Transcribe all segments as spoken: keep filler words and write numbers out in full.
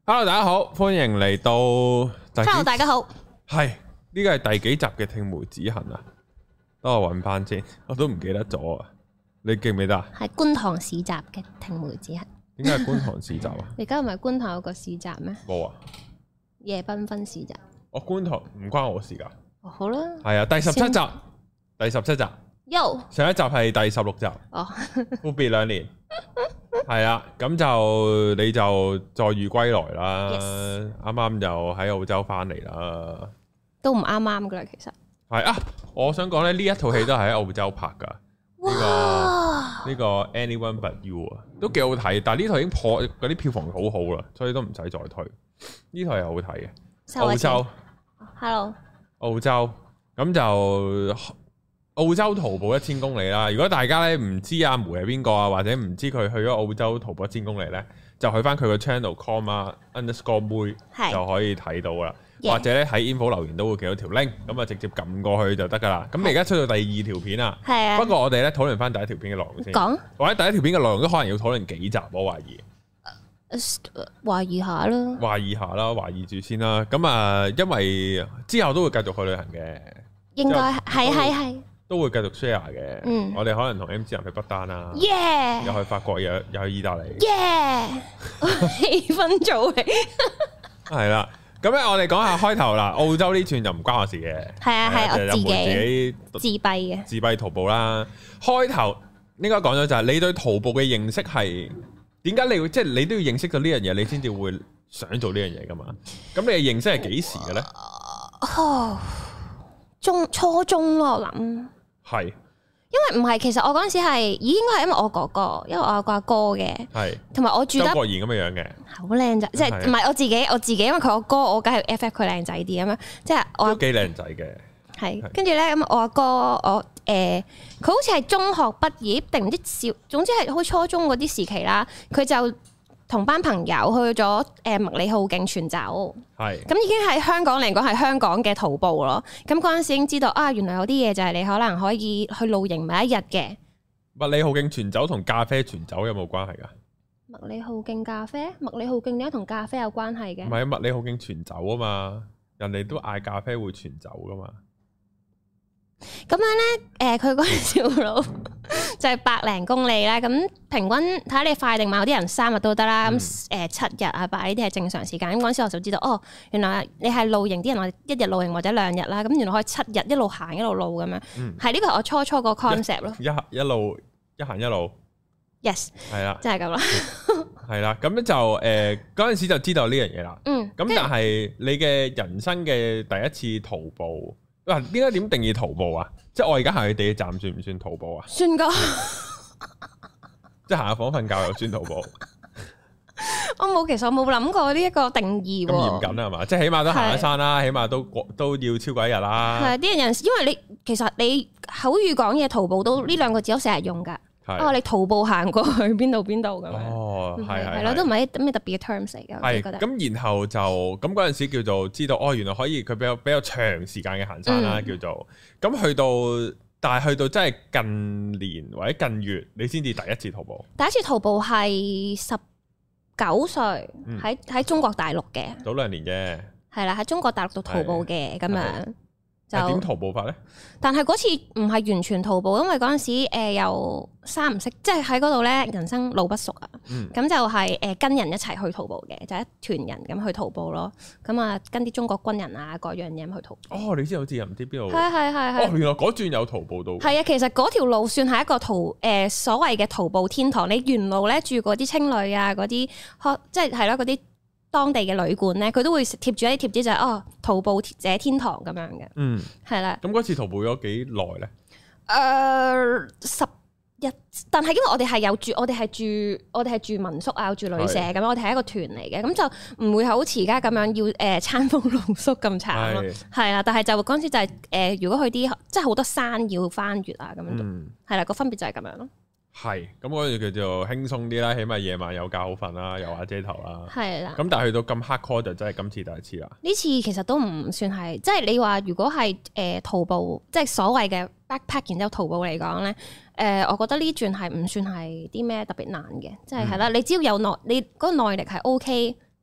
Hello， 大家好，歡迎嚟到。 Hello， 大家好。 係呢個係第幾集嘅聽梅止痕啊？等我揾翻先，我都唔記得咗啊！你記唔記得啊？ 係觀塘市集嘅聽梅止痕。 點解係觀塘市集啊？ 你而家唔係觀塘有個市集咩？ 冇啊！ 夜繽紛市集。 我觀塘唔關我事噶。 哦，好啦。係啊，第十七集，第十七集。 Yo， 上一集係第十六集。哦，闊別兩年。係啊，咁就你就再遇歸來啦，啱啱 Yes. 又喺澳洲翻嚟啦， 都唔啱啱噶啦，其實係啊，我想講咧，呢一套戲都係喺澳洲拍噶，呢、這個呢、這個 Anyone But You 啊，都幾好睇，但係呢套已經破嗰啲票房好好啦，所以都唔使再推，呢套係好睇嘅，澳洲 ，Hello， 澳洲咁就。澳洲徒步一千公里啦！如果大家咧唔知阿梅係邊個啊，或者唔知佢去咗澳洲徒步一千公里咧，就去翻佢個 channel comma underscore 妹就可以睇到啦。是或者咧喺 info 留言都會見到條 link，咁啊直接撳過去就得噶啦。咁你而家出到第二條片啊，係啊。不過我哋咧討論翻第一條片嘅內容先。講或者第一條片嘅內容都可能要討論幾集，我懷疑。 懷疑下啦。懷疑下啦，懷疑住先啦。咁啊，因為之後都會繼續去旅行嘅。 應該係係係。 都會繼續 share 嘅，嗯、我哋可能同 M 字人去不丹啦，Yeah! 又去法國，又又去意大利， 氣氛做起， 係啦。咁咧，我哋講下開頭啦。澳洲呢串就唔關我事嘅， 係啊係、啊、我自己自己自閉嘅自閉徒步啦。開頭應該講咗就係你對徒步嘅認識係點解你會即係、就是、你都要認識到呢樣嘢，你先至會想做呢樣嘢噶嘛？咁你嘅認識係幾時嘅咧？ 哦，中初中咯，我諗。係，因為唔係，其實我嗰陣時係，咦，應該係因為我哥哥，因為我有個阿哥嘅，係，同埋我住得周國賢咁嘅樣嘅，好靚仔，即係唔係我自己，我自己，因為佢個哥，我梗係 F F 佢靚仔啲咁樣，即係我都幾靚仔嘅，係，跟住咧咁我阿哥，我誒，佢、呃、好似係中學畢業定唔知小，總之係好初中嗰啲時期啦，佢就同班朋友去咗誒麥理浩徑全走，係咁已經喺香港嚟講係香港嘅徒步咯。咁嗰陣時已經知道啊，原來有啲嘢就係你可能可以去露營埋一日嘅。麥理浩徑全走同咖啡全走有冇關係㗎？麥理浩徑咖啡，麥理浩徑點解同咖啡有關係嘅？唔係啊，麥理浩徑全走啊嘛，人哋都嗌咖啡會全走㗎嘛。咁樣咧，誒佢嗰條路就係百零公里啦。咁平均睇下你快定慢，有啲人三日都得啦。咁誒、嗯、七日啊，八呢啲係正常時間。咁嗰陣時我就知道，哦，原來你係露營啲人，我一日露營或者兩日啦。咁原來可以七日一路行一路露咁樣。係呢個係我初初個 concept 咯。一一路一行一路。Yes。係啦，真係咁啦。係啦，咁就誒嗰陣時就知道呢樣嘢啦。嗯。咁但係你嘅人生嘅第一次徒步。嗱，點解點定義徒步啊？即係我而家行去地鐵站算唔算徒步啊？算噶，即係行下房瞓覺又算徒步。我冇，其實我冇諗過呢一個定義。咁嚴謹係嘛？即係起碼都行一山啦，起碼都都要超過一日啦。係啲人，因為你其實你口語講嘢徒步都呢兩個字都成日用噶。哦，你徒步行過去邊度邊度咁樣？哦，係係係咯，都唔係啲咩特別嘅 terms 嚟嘅。係咁，然後就咁嗰陣時叫做知道，哦，原來可以佢比較比較長時間嘅行山啦，叫做咁去到，但係去到真係近年或者近月，你先至第一次徒步。第一次徒步係十九歲，喺喺中國大陸嘅。早兩年啫。係啦，喺中國大陸度徒步嘅咁樣。就點徒步法咧？但係嗰次唔係完全徒步，因為嗰陣時誒又三唔識，即係喺嗰度咧人生路不熟啊。咁、嗯、就係誒跟人一齊去徒步嘅，就一團人咁去徒步咯。咁啊跟啲中國軍人啊各樣嘢咁去徒步。哦，你知好似又唔知邊度？係係係係。哦，原來嗰轉有徒步到。係啊，其實嗰條路算係一個徒誒、呃、所謂嘅徒步天堂。你沿路咧住嗰啲青旅啊，嗰啲即係係咯嗰啲。當地嘅旅館咧，佢都會貼住一啲貼紙，就係哦徒步者天堂咁樣嘅。嗯，係啦。咁嗰次徒步咗幾耐咧？誒，十日。但係因為我哋係有住，我哋係住，我哋係住民宿啊，住旅社咁，我哋係一個團嚟嘅，咁就唔會好似而家咁樣要誒餐風露宿咁慘咯。係啦，但係就嗰陣時就係誒，如果去啲即係好多山要翻越啊咁樣，係啦，個分別就係咁樣咯。係，咁嗰度叫做輕鬆啲啦，起碼夜晚有覺好瞓啦，有瓦遮頭啦。係啦的。咁但係去到咁 hardcore 就真係今次第一次啦。呢次其實都唔算係，即係你話如果係誒、呃、徒步，即係所謂嘅 backpack，然之後徒步嚟講咧，誒、呃，我覺得呢轉係唔算係啲咩特別難嘅，即係係啦，你只要有耐，你嗰個耐力係 OK，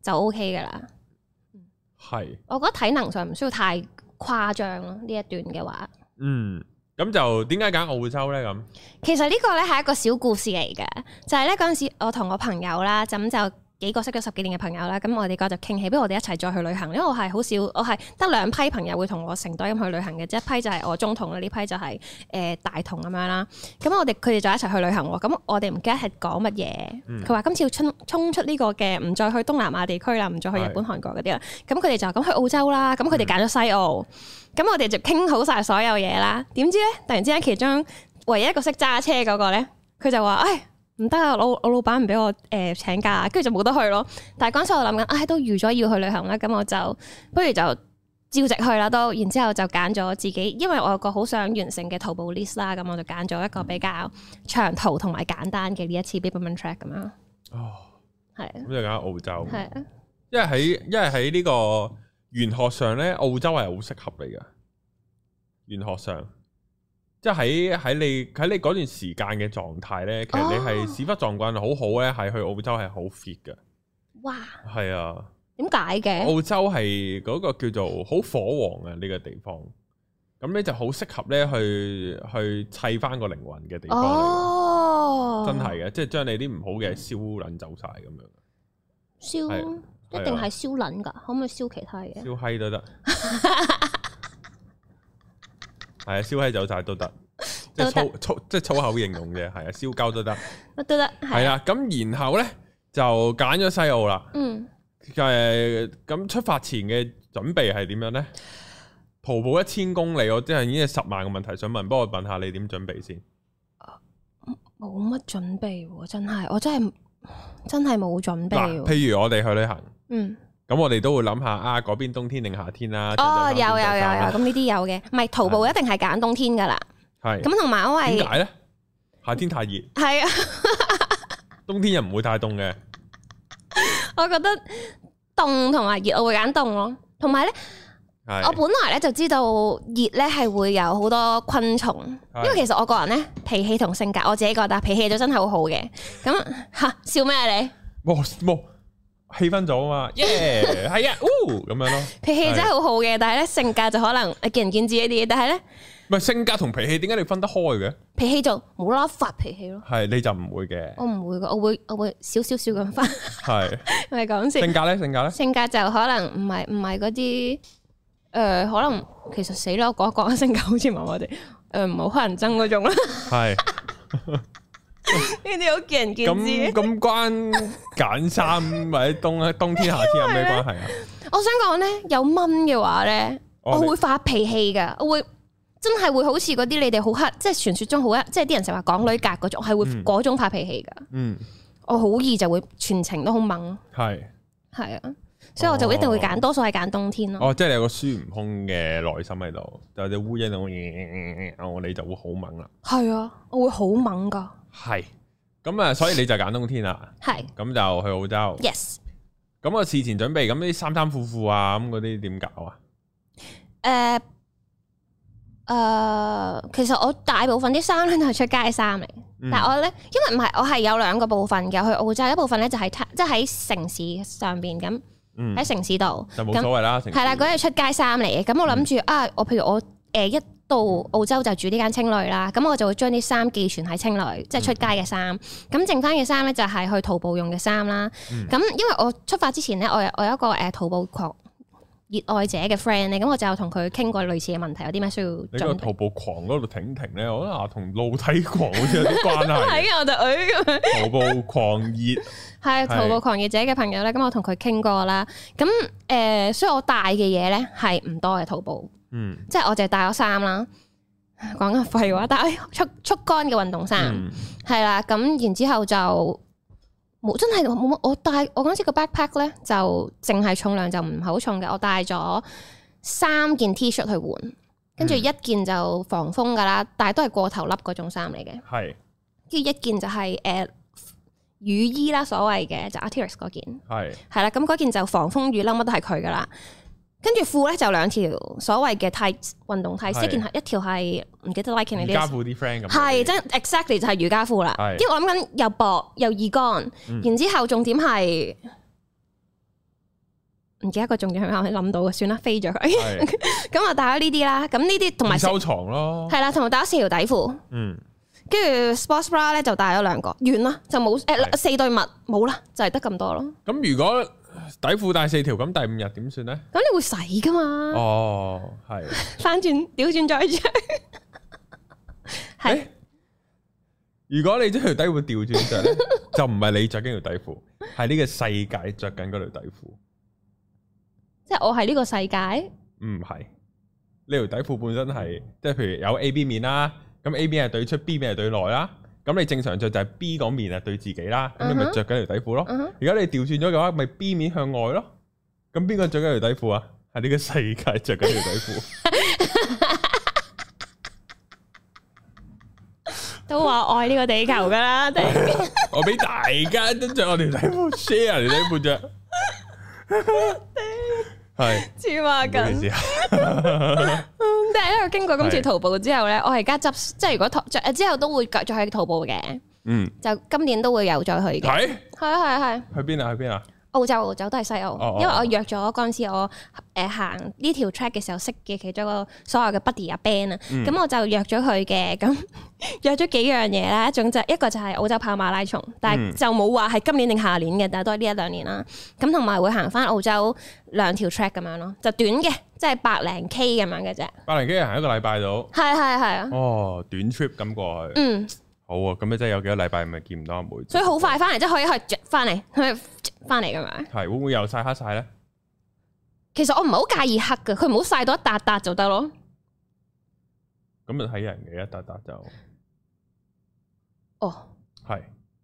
就 OK 噶啦。 係是， 我覺得體能上唔需要太誇張咯，呢一段嘅話。 嗯，咁就點解揀澳洲咧？咁其實呢個咧係一個小故事嚟嘅，就係咧嗰陣時我同我朋友啦，咁就幾個識咗十幾年嘅朋友啦，咁我哋嗰就傾起，不如我哋一齊再去旅行。因為我係好少，我係得兩批朋友會同我成隊咁去旅行嘅，即一批就係我中同啦，呢批就係、是、誒、呃、大同咁樣啦。咁我哋佢哋就一齊去旅行喎。咁我哋唔記得係講乜嘢。佢話、嗯、今次要衝衝出呢個嘅，唔再去東南亞地區啦，唔再去日本、韓國嗰啲啦。咁佢哋就咁去澳洲啦。咁佢哋揀咗西澳。咁、嗯、我哋就傾好晒所有嘢啦。點知咧，突然之間其中唯一一個識揸車嗰個咧，佢就話：，唉。唔得啊！老我老闆唔俾我誒、呃、請假，跟住就冇得去咯。但係嗰陣時我諗緊，唉、哎，都預咗要去旅行啦，咁我就不如就照直去啦都。然之後就揀咗自己，因為我有個好想完成嘅徒步 list 啦，咁我就揀咗一個比較長途同埋簡單嘅呢一次 Biberman Track 咁樣。哦，係是。咁就揀澳洲。係啊。 因為喺因為喺呢個玄學上咧，澳洲係好適合你㗎。玄學上。即係喺喺你喺你嗰段時間嘅狀態咧，其實你係屎忽撞棍好好咧，係去澳洲係好 fit 嘅。哇！係啊， 點解嘅？ 澳洲係嗰個叫做好火旺啊呢個地方，咁咧就好適合咧去去砌翻個靈魂嘅地方嚟。哦，真係嘅，即係將你啲唔好嘅燒撚走晒咁樣。 燒一定係燒撚㗎，可唔可以燒其他嘢？ 燒閪都得。係啊，燒閪走晒都得，即係粗粗即係粗口形容嘅，係啊，燒膠都得， 乜都得， 係啊。咁然後咧就揀咗西澳啦。嗯，誒，咁出發前嘅準備係點樣咧？徒步一千公里，我真係已經係十萬個問題想問，幫我問下你點準備先。 冇乜準備喎，真係，我真係真係冇準備。 譬如我哋去旅行， 嗯。 咁我哋都會諗下啊，嗰邊冬天定夏天啦。 哦，有有有有，咁呢啲有嘅，唔係徒步一定係揀冬天噶啦。係。咁同埋因為點解咧？夏天太熱。 係啊。 冬天又唔會太凍嘅。 我覺得凍同埋熱，我會揀凍咯。同埋咧，我本來咧就知道熱咧係會有好多昆蟲，因為其實我個人咧脾氣同性格，我自己覺得脾氣都真係好好嘅。咁吓笑咩你？冇冇。氣氛咗啊嘛，耶，係啊，咁樣咯。脾氣真係好好嘅，但係咧性格就可能見仁見智一啲。但係咧，唔係性格同脾氣點解你分得開嘅？脾氣就冇啦啦發脾氣咯。係你就唔會嘅。我唔會嘅，我會我會少少少咁翻。係咪講笑？性格咧，性格咧，性格就可能唔係唔係嗰啲誒，可能其實死啦，我講一講性格好似麻麻地，誒唔好乞人憎嗰種啦。係。呢啲好見仁見智。咁咁關揀衫或者冬冬天夏天有咩關係啊？我想講咧，有蚊嘅話咧，我會發脾氣噶，我會真係會好似嗰啲你哋好黑，即係傳說中好黑，即係啲人成日話港女格嗰種，係會嗰種發脾氣噶。嗯，我好易就會全程都好猛。係係啊，所以我就一定會揀，多數係揀冬天咯。哦，即係你有個孫悟空嘅內心喺度，就隻烏蠅咁，我你就會好猛啦。係啊，我會好猛噶。係，咁啊，所以你就揀冬天啦。係是，咁就去澳洲。Yes。咁我事前準備，咁啲衫衫褲褲啊，咁嗰啲點搞啊？誒誒、呃呃，其實我大部分啲衫咧都係出街衫嚟，嗯、但係我咧，因為唔係，我係有兩個部分嘅，去澳洲一部分咧就係即係喺城市上邊咁，喺、嗯、城市度就冇所謂啦。係啦，嗰啲出街衫嚟嘅，咁我諗住、嗯、啊，我譬如我誒、呃、一。到澳洲就住呢間青旅啦，咁我就會將啲衫寄存喺青旅，即係出街嘅衫。咁、嗯、剩翻嘅衫咧就係去徒步用嘅衫啦。咁、嗯、因為我出發之前咧，我有我有一個誒徒步狂熱愛者嘅 friend 咧，咁我就同佢傾過類似嘅問題，有啲咩需要準備。你個徒步狂嗰度停停咧，我覺得同露體狂好似有啲關係。係啊，我就誒咁樣。徒步狂熱係徒步狂熱者嘅朋友咧，咁我同佢傾過啦。咁誒、呃，所以我帶嘅嘢咧係唔多嘅徒步。嗯，即係我就係帶咗衫啦，講緊廢話，帶速速乾嘅運動衫係啦，咁、嗯、然之後就冇真係冇乜，我帶我嗰次個 backpack 咧就淨係重量就唔係好重嘅，我帶咗三件 T 恤去換，跟住一件就防風噶啦，但係都係過頭笠嗰種衫嚟嘅，係，跟住一件就係、是、誒、呃、雨衣啦，所謂嘅就 Arc'teryx 嗰件，係係啦，咁嗰件就防風雨褸乜都係佢噶啦。跟住褲咧就兩條所謂嘅 tights 運動 tights，一件係一條係唔記得 like 瑜伽褲啲 friend 咁，係真 exactly 就係瑜伽褲啦。因為我諗緊又薄又易乾，然之後重點係唔記得個重點係咩，我諗到嘅，算啦，飛咗佢。咁啊帶咗呢啲啦，咁呢啲同埋收藏咯， 係啦，同埋帶咗四條底褲，嗯，跟住 sports bra 咧就帶咗兩個，完啦就冇誒四對襪冇啦，就係得咁多咯。咁如果底褲帶四條，咁第五日點算咧？ 咁你會洗噶嘛？ 哦，係翻轉調轉再着，係。 如果你將條底褲調轉着咧，就唔係你着緊條底褲，係呢個世界着緊嗰條底褲。 即係我係呢個世界？ 唔係，呢條底褲本身係，即係譬如有 A B 面啦，咁 A 面係對出 ，B 面係對內啦。咁你正常着就係 B 嗰面係對自己啦，咁、uh huh. 你咪着緊條底褲咯。如果、uh huh. 你調轉咗嘅話，咪 B 面向外咯。咁邊個着緊條底褲啊？係呢個世界着緊條底褲。 都話愛呢個地球噶啦， 我俾大家都着我條底褲 share 條底褲着，係黐孖筋。但係因為經過今次淘寶之後咧，我而家執即係如果淘着之後都會再去淘寶嘅，嗯，就今年都會有再去嘅。係係啊係係。去邊啊？去邊啊？澳洲，澳洲都係西澳，哦、因為我約咗嗰陣時我誒行呢條 track 嘅時候識嘅其中一個所有嘅 buddy 阿 Ben 啊、嗯，咁我就約咗佢嘅，咁約咗幾樣嘢啦，一種就一個就係澳洲跑馬拉松，但係就冇話係今年定下年嘅，但係都係呢一兩年啦。咁同埋會行翻澳洲兩條 track 咁樣咯，就短嘅，即係百零 K 咁樣嘅啫。百零 K 行一個禮拜到， 係係係啊。 哦，短 trip 咁過去。嗯。好啊，咁你真係有幾個禮拜咪見唔到阿妹， 所以好快翻嚟，即係可以去翻嚟，去翻嚟咁樣。係會唔會又曬黑晒咧？ 其實我唔係好介意黑嘅，佢唔好曬到一笪笪就得咯。 咁就睇人嘅，一笪笪就。 哦， 係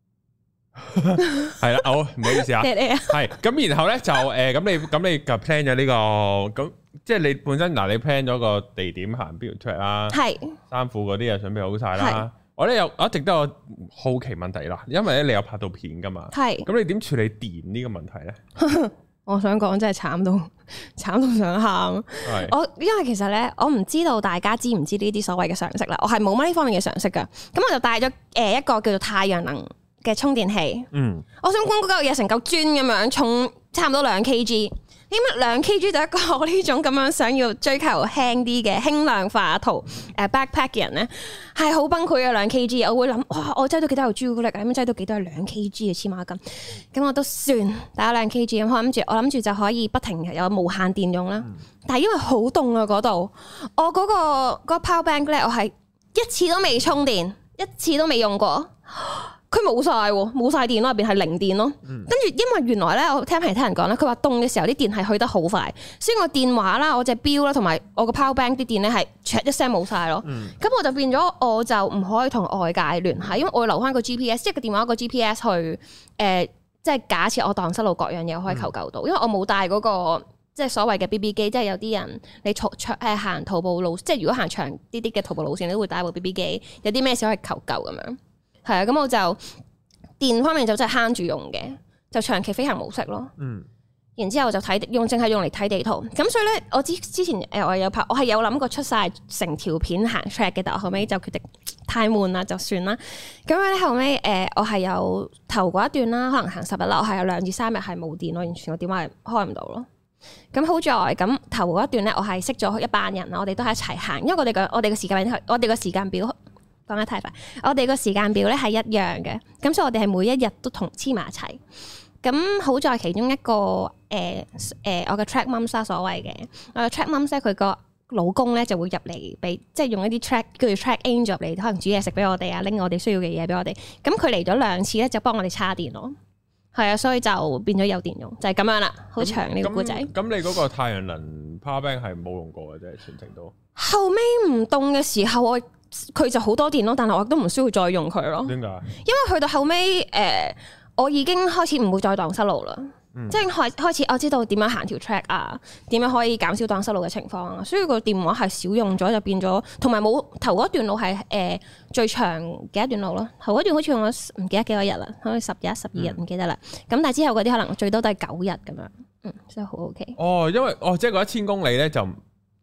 係啦，好唔好意思啊。係咁，然後咧就誒，咁你咁你就 plan 咗呢個咁，即係你本身嗱，你 plan 咗個地點行邊條 track 啦，係衫褲嗰啲又準備好晒啦。我咧有我一直都有好奇問題啦，因為咧你有拍到片噶嘛，係咁你點處理電呢個問題咧？ 我想講真係慘到慘到想喊，係我因為其實咧我唔知道大家知唔知呢啲所謂嘅常識啦，我係冇乜呢方面嘅常識噶，咁我就帶咗誒一個叫做太陽能嘅充電器，嗯，我想講嗰嚿嘢成嚿磚咁樣重，差唔多兩 Kg。點解兩 Kg 就一個我呢種咁樣想要追求輕啲嘅輕量化圖誒 backpack 嘅人咧，係好崩潰嘅兩 Kg。我會諗哇，我擠到幾多嚿朱古力啊？咁擠到幾多係兩 Kg 嘅黐孖筋？咁我都算打兩 Kg 咁，我諗住我諗住就可以不停有無限電用啦。嗯、但係因為好凍啊嗰度，我嗰、嗰個嗰個 power bank 咧，我係一次都未充電，一次都未用過。佢冇晒喎，冇晒電咯，入邊係零電咯。跟住、嗯、因為原來咧，我聽其他人講咧，佢話凍嘅時候啲電係去得好快，所以我電話啦、我隻錶啦同埋我個 power bank 啲電咧係唰一聲冇晒咯。咁、嗯、我就變咗我就唔可以同外界聯繫，因為我要留翻個 G P S，即係個電話個 G P S 去誒、呃，即係假設我蕩失路各樣嘢我可以求救到，嗯、因為我冇帶嗰、那個即係所謂嘅 B B 機，即係有啲人你長長誒行徒步路，即係如果行長啲啲嘅徒步路線，你都會帶部 B B 機，有啲咩事可以求救咁樣。係啊，咁我就電方面就真係慳住用嘅，就長期飛行模式咯。嗯，然之後就睇用，淨係用嚟睇地圖。咁所以咧，我之之前誒我有拍，我係有諗過出晒成條片行 track 嘅，但我後尾就決定太悶啦，就算啦。咁樣咧後尾誒，我係有頭嗰一段啦，可能行十日啦，我係有兩至三日係冇電咯，完全個電話係開唔到咯。咁好在咁頭嗰一段咧，我係識咗一班人啦，我哋都係一齊行，因為我哋個我哋個時間我哋個時間表。講得太快，我哋個時間表咧係一樣嘅，咁所以我哋係每一日都同黐埋一齊。咁好在其中一個誒誒、呃呃，我嘅 track mum 啦，所謂嘅我嘅 track mum 咧，佢個老公咧就會入嚟俾，即係用一啲 track 叫做 track angel 嚟，可能煮嘢食俾我哋啊，拎我哋需要嘅嘢俾我哋。咁佢嚟咗兩次咧，就幫我哋叉電咯。係啊，所以就變咗有電用，就係、是、咁樣啦。好長呢個故仔。咁你嗰個太陽能 power bank 係冇用過嘅啫，全程都。 後尾唔凍嘅時候，我。佢就好多電咯，但係我都唔需要再用佢咯。 點解？ 因為去到後尾，誒、呃，我已經開始唔會再蕩失路啦。嗯、即係開開始，我知道點樣行條 track 啊，點樣可以減少蕩失路嘅情況啊。所以個電話係少用咗，就變咗，同埋冇頭嗰段路係誒、呃、最長嘅一段路咯。頭嗰段好似用咗唔記得幾多日啦，可能十日、十二日唔記得啦。咁、嗯、但係之後嗰啲可能最多都係九日咁樣。嗯，所以好 OK。 哦，因為哦，即係嗰一千公里咧就。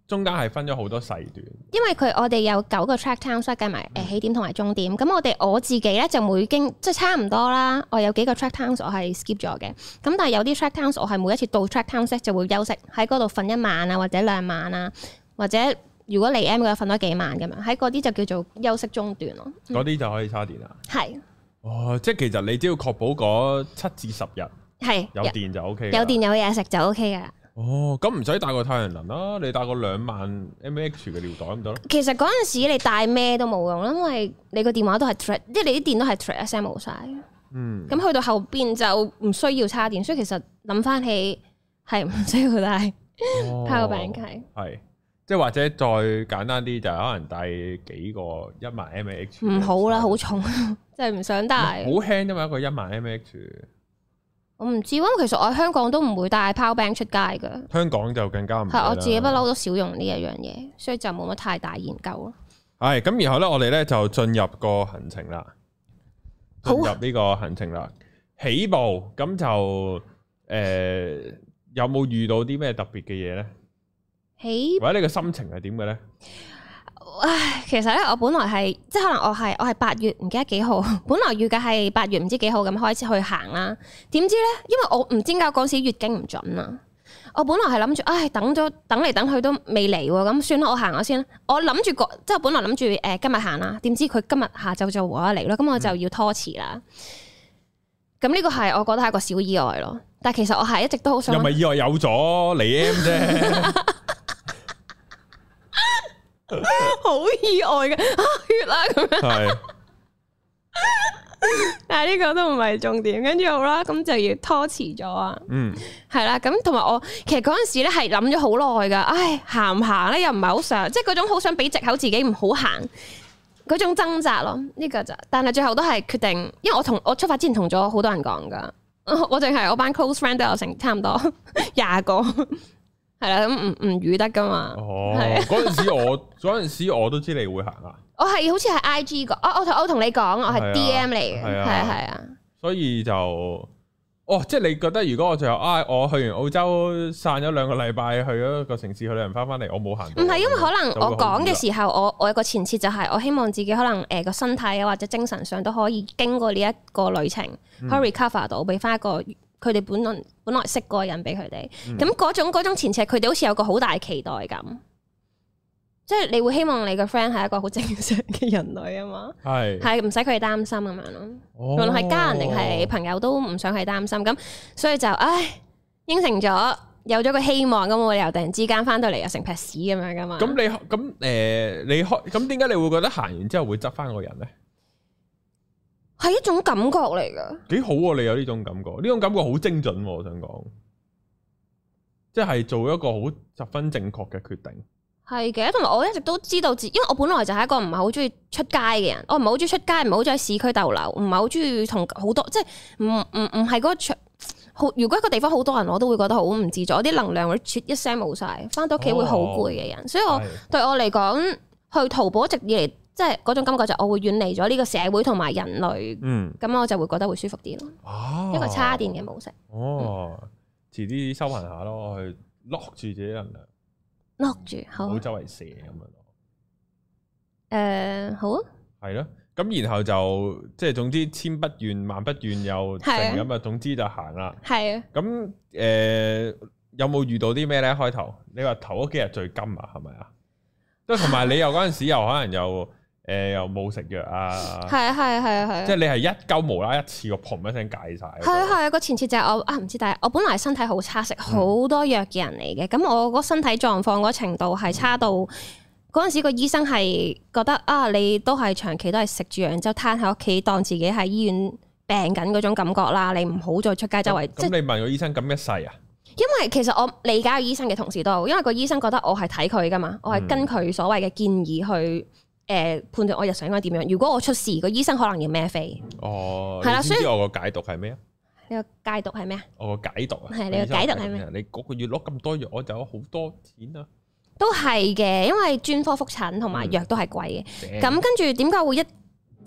中間係分咗好多細段。 因為佢我哋有九個 track time， 所以計埋誒起點同埋終點。咁、嗯、我哋我自己咧就每經即係差唔多啦。我有幾個 track times 我係 skip 咗嘅。咁但係有啲 track times 我係每一次到 track times 就會休息喺嗰度瞓一晚啊，或者兩晚啊，或者如果嚟 M 嘅瞓多幾晚咁樣，喺嗰啲就叫做休息中段咯。嗰、嗯、 啲就可以叉電啊？ 係。 哦，即係其實你只要確保嗰七至十日係有電就 O K， 有電有嘢食就 O K 噶。 哦，咁唔使帶個太陽能啦，你帶個兩萬 mAh 嘅尿袋咁得咯。 其實嗰陣時你帶咩都冇用，因為你個電話都係 thread，即係你啲電都係 thread 一聲冇晒。嗯。咁去到後邊就唔需要叉電，所以其實諗翻起係唔需要帶 power bank 嘅。係， 即係或者再簡單啲就可能帶幾個一萬 mAh。 唔好啦，好重，真係唔想帶。 好輕啫嘛，一個一萬 mAh。 我唔知，因為其實我喺香港都唔會帶 power bank 出街㗎。 香港就更加唔係。 係我自己不嬲都少用呢一樣嘢，所以就冇乜太大研究咯。係咁，然後咧，我哋咧就進入個行程啦。進入呢個行程啦，起步咁就誒、呃，有冇遇到啲咩特別嘅嘢咧？起或者你個心情係點嘅咧？ 唉，其實咧，我本來係即係可能我係我係八月唔記得幾號，本來預計係八月唔知幾號咁開始去行啦。點知咧，因為我唔知點解嗰時月經唔準啊。我本來係諗住，唉，等咗等嚟等去都未嚟喎，咁算啦，我行咗先。我諗住個即係本來諗住誒今日行啦，點知佢今日下晝就話嚟咯，咁我就要拖遲啦。咁呢個係我覺得係一個小意外咯。但係其實我係一直都好想又咪意外有咗嚟 M 啫。 好意外嘅啊血啦咁樣，係，但係呢個都唔係重點，跟住好啦，咁就要拖遲咗啊，嗯，係啦，咁同埋我其實嗰陣時咧係諗咗好耐噶，唉，行唔行咧又唔係好想，即係嗰種好想俾藉口自己唔好行嗰種掙扎咯，呢個就，但係最後都係決定，因為我同我出發之前同咗好多人講噶，我淨係我班 close friend 都有成差唔多廿個。係啦，咁唔唔預得噶嘛？ 哦，嗰陣時我嗰陣時我都知你會行啊。 我係好似係 I G 個，我我同我同你講，我係 D M 嚟嘅，係啊係啊。 所以就，哦，即係你覺得如果我最後啊，我去完澳洲散咗兩個禮拜，去咗個城市，去旅行翻翻嚟，我冇行到。唔係， 因為可能我講嘅時候，我我有個前設就係，我希望自己可能誒個身體啊或者精神上都可以經過呢一個旅程，嗯、可以 recover 到，俾翻一個。佢哋本來本來識個人俾佢哋，咁嗰、嗯、種嗰種前設，佢哋好似有個好大期待感，即係你會希望你個 friend 係一個好正常嘅人類啊嘛，係係唔使佢哋擔心咁樣咯，無論係家人定係朋友都唔想佢擔心，咁所以就唉應承咗，有咗個希望，咁我又突然之間翻到嚟又成劈屎咁樣噶嘛。 咁你咁誒、呃，你開咁點解你會覺得行完之後會執翻個人咧？ 係一種感覺嚟噶， 幾好啊！你有呢種感覺，呢種感覺好精準啊，我想講，即係做一個好十分正確嘅決定。 係嘅，同埋我一直都知道自，因為我本來就係一個唔係好中意出街嘅人，我唔係好中意出街，唔係好中意喺市區逗留，唔係好中意同好多，即係唔唔唔係嗰個場好。如果一個地方好多人，我都會覺得好唔自在，我啲能量會啜一聲冇晒，翻到屋企會好攰嘅人。哦、所以我的對我嚟講，去淘寶一直以嚟。即係嗰種感覺就我會遠離咗呢個社會同埋人類，嗯，咁我就會覺得會舒服啲咯。哦，一個叉電嘅模式。哦，遲啲修行下咯，去 lock 住自己能量，lock 住，好，唔好周圍射咁樣咯。 誒，好啊。係咯，咁然後就即係總之千不願萬不願又成咁啊，總之就行啦。係啊。咁誒有冇遇到啲咩咧？開頭你話頭嗰幾日最金啊，係咪啊？即係同埋你又嗰陣時又可能又。誒、呃、又冇食藥啊！ 係啊係啊係啊係啊！ 即係你係一鳩無啦一次過砰一聲戒晒。 係啊係啊，個前設就係我啊唔知，但係我本來身體好差，食好多藥嘅人嚟嘅。咁、嗯、我個身體狀況嗰程度係差到嗰陣、嗯、時個醫生係覺得啊，你都係長期都係食住藥，然之後攤喺屋企當自己喺醫院病緊嗰種感覺啦。你唔好再出街周圍。咁、嗯、 你問個醫生咁一世啊？ 因為其實我理解個醫生嘅同事都好，因為個醫生覺得我係睇佢噶嘛，我係跟佢所謂嘅建議去。誒、呃、判斷我日常應該點樣？如果我出事，個醫生可能要孭飛。哦，係啦，所以我個解讀係咩啊？ 你個解讀係咩啊？ 我個解讀啊， 係你個解讀係咩？ 你嗰個月攞咁多藥，我就有好多錢啊！ 都係嘅，因為專科覆診同埋藥都係貴嘅。咁、嗯、跟住點解會一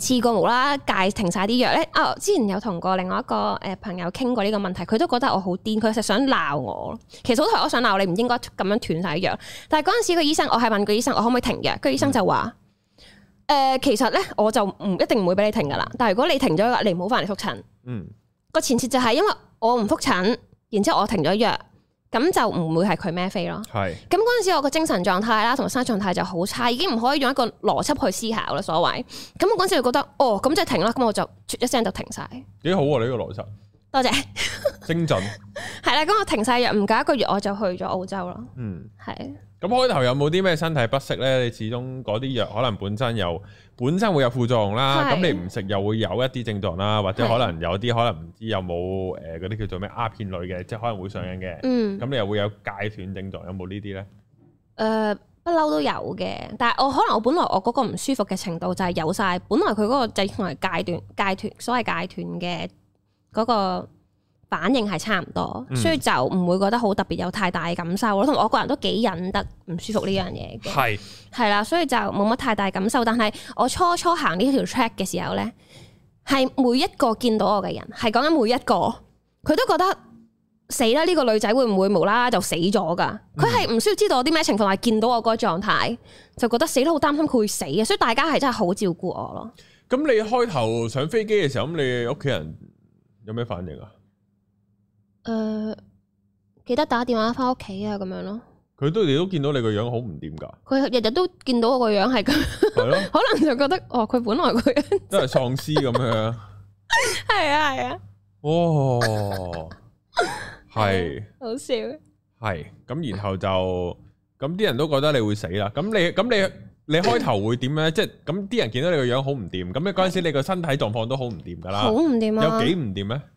試過無啦戒停晒啲藥咧。啊，之前有同過另外一個誒朋友傾過呢個問題，佢都覺得我好癲，佢實想鬧我。其實好台我想鬧你，唔應該咁樣斷晒藥。但係嗰陣時個醫生，我係問個醫生我可唔可以停藥，個醫生就話。誒、呃，其實咧，我就唔一定唔會俾你停噶啦。但係如果你停咗藥，你唔好翻嚟復診。嗯，個前設就係因為我唔復診，然之後我停咗藥，咁就唔會係佢孭飛咯。係是。咁嗰陣時我個精神狀態啦，同埋生活狀態就好差，已經唔可以用一個邏輯去思考啦。所謂。咁我嗰陣時就覺得，哦，咁即係停啦。咁我就一聲就停晒。幾好啊！你呢個邏輯。 多謝。 精準。係啦，咁我停晒藥，唔夠一個月我就去咗澳洲咯。嗯，係。 咁開頭有冇啲咩身體不適咧？你始終嗰啲藥可能本身又本身會有副作用啦，咁是你唔食又會有一啲症狀啦，或者可能有啲可能唔知有冇誒嗰啲叫做咩鴉片類嘅，即係可能會上癮嘅。嗯，咁你又會有戒斷症狀，有冇呢啲咧？誒、 呃，不嬲都有嘅，但係我可能我本來我嗰個唔舒服嘅程度就係有晒，本來佢嗰個就同埋戒斷戒斷，所謂戒斷嘅嗰個。反應係差唔多，嗯、所以就唔會覺得好特別有太大嘅感受咯。同埋我個人都幾忍得唔舒服呢樣嘢嘅，係係啦，所以就冇乜太大感受。但係我初初行呢條 track 嘅時候咧，係每一個見到我嘅人，係講緊每一個，佢都覺得死啦！呢、呢個女仔會唔會無啦啦就死咗㗎？佢係唔需要知道我啲咩情況，係見到我嗰個狀態，就覺得死都好擔心佢會死嘅。所以大家係真係好照顧我咯。 咁你開頭上飛機嘅時候，咁你屋企人有咩反應啊？ 誒、呃，記得打電話翻屋企啊，咁樣咯。 佢都你都見到你個樣好唔掂噶。佢日日都見到我個樣係咁，係咯。可能就覺得哦，佢本來個樣都係喪屍咁樣。 係啊係啊。 哦，係。 好笑。 係咁，然後就咁啲人都覺得你會死啦。咁你咁你你開頭會點咧？即係咁啲人見到你個樣好唔掂，咁你嗰陣時你個身體狀況都好唔掂噶啦。 好唔掂啊！ 有幾唔掂咧？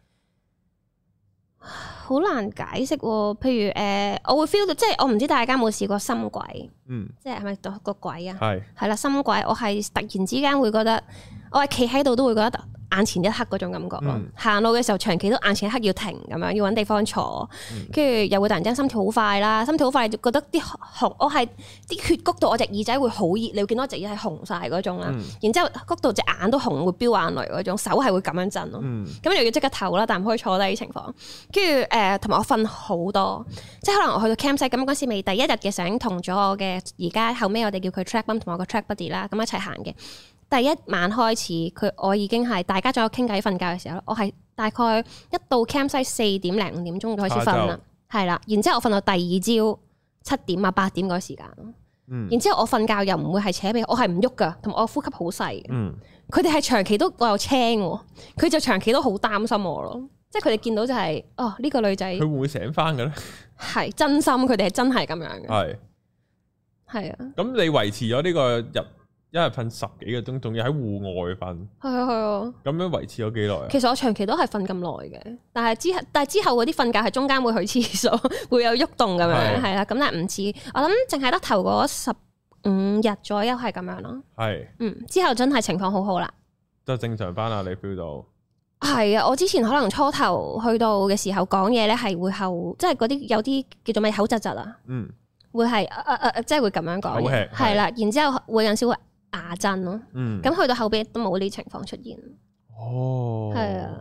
好難解釋喎，譬如誒、呃，我會 feel 到，即係我唔知大家有冇試過心悸，嗯，即係係咪個鬼啊？係係啦，心悸，我係突然之間會覺得，我係企喺度都會覺得眼前一黑嗰種感覺咯。行、嗯、路嘅時候長期都眼前一黑要停咁樣，要揾地方坐，跟住、嗯、又會突然間心跳好快啦，心跳好快就覺得啲紅，我係啲血谷到我隻耳仔會好熱，你會見到我隻耳係紅晒嗰種啦。嗯、然之後谷到隻眼都紅，會飆眼淚嗰種，手係會咁樣震咯。咁、嗯、又要即刻唞啦，但唔可以坐低情況。跟住誒，同埋我瞓好多，即係可能我去到 campsite 咁嗰時未第一日嘅時候，同咗我嘅而家後尾我哋叫佢 track bum 同我個 track buddy 啦，咁一齊行嘅。第一晚開始，佢我已經係大家仲有傾偈瞓覺嘅時候，我係大概一到 campsite 四點零五點鐘就開始瞓啦，係啦晝。然之後我瞓到第二朝七點啊八點嗰個時間，嗯、然之後我瞓覺又唔會係扯鼻，我係唔喐噶，同埋我呼吸好細嘅。佢哋係長期都我有青，佢就長期都好擔心我咯。即係佢哋見到就係、是、哦呢、呢個女仔，佢會唔會醒翻嘅咧？ 係真心，佢哋係真係咁樣嘅。係係啊。咁你維持咗呢個日？一日瞓十幾個鐘，仲要喺戶外瞓。 係啊係啊。 咁樣維持咗幾耐啊？ 其實我長期都係瞓咁耐嘅，但係之後但係之後嗰啲瞓覺係中間會去廁所，會有喐動咁樣，係啦。咁但係唔似我諗，淨係得頭嗰十五日左右係咁樣咯。係。嗯，之後真係情況好好啦。 就正常翻啦，你 feel 到？ 係啊，我之前可能初頭去到嘅時候講嘢咧，係會後即係嗰啲有啲叫做咩口窒窒啊。嗯。會係誒誒誒，即係會咁樣講嘅，係啦。然之後會有少少牙震咯，嗯，咁去到後邊都冇呢啲情況出現。哦，係啊。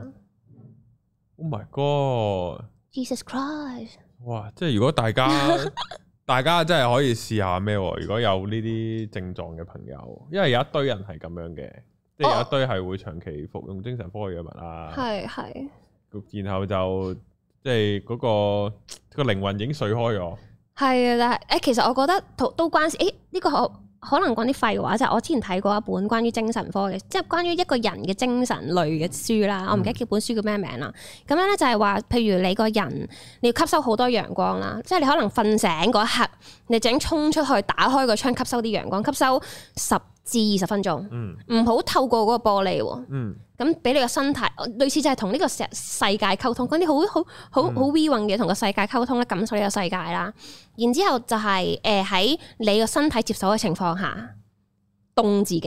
Oh my god！Jesus Christ！ 哇，即係如果大家大家真係可以試下咩？如果有呢啲症狀嘅朋友，因為有一堆人係咁樣嘅，即係有一堆係會長期服用精神科嘅藥物啊。係係。然後就即係嗰個個靈魂已經碎開咗。 係啊，但係誒，其實我覺得都都關事。誒，呢個可可能講啲廢話，就係我之前睇過一本關於精神科嘅，即係關於一個人嘅精神類嘅書啦。我唔記得叫本書叫咩名啦。咁樣咧就係話，譬如你個人你要吸收好多陽光啦，即係你可能瞓醒嗰一刻，你整衝出去打開個窗吸收啲陽光，吸收十至二十分鐘，唔好、嗯、透過嗰個玻璃喎。咁俾、嗯、你個身體，類似就係同呢個世世界溝通，嗰啲好好好好 we 運嘅同個世界溝通咧，感受呢個世界啦。然之後就係誒喺你個身體接受嘅情況下，凍自己，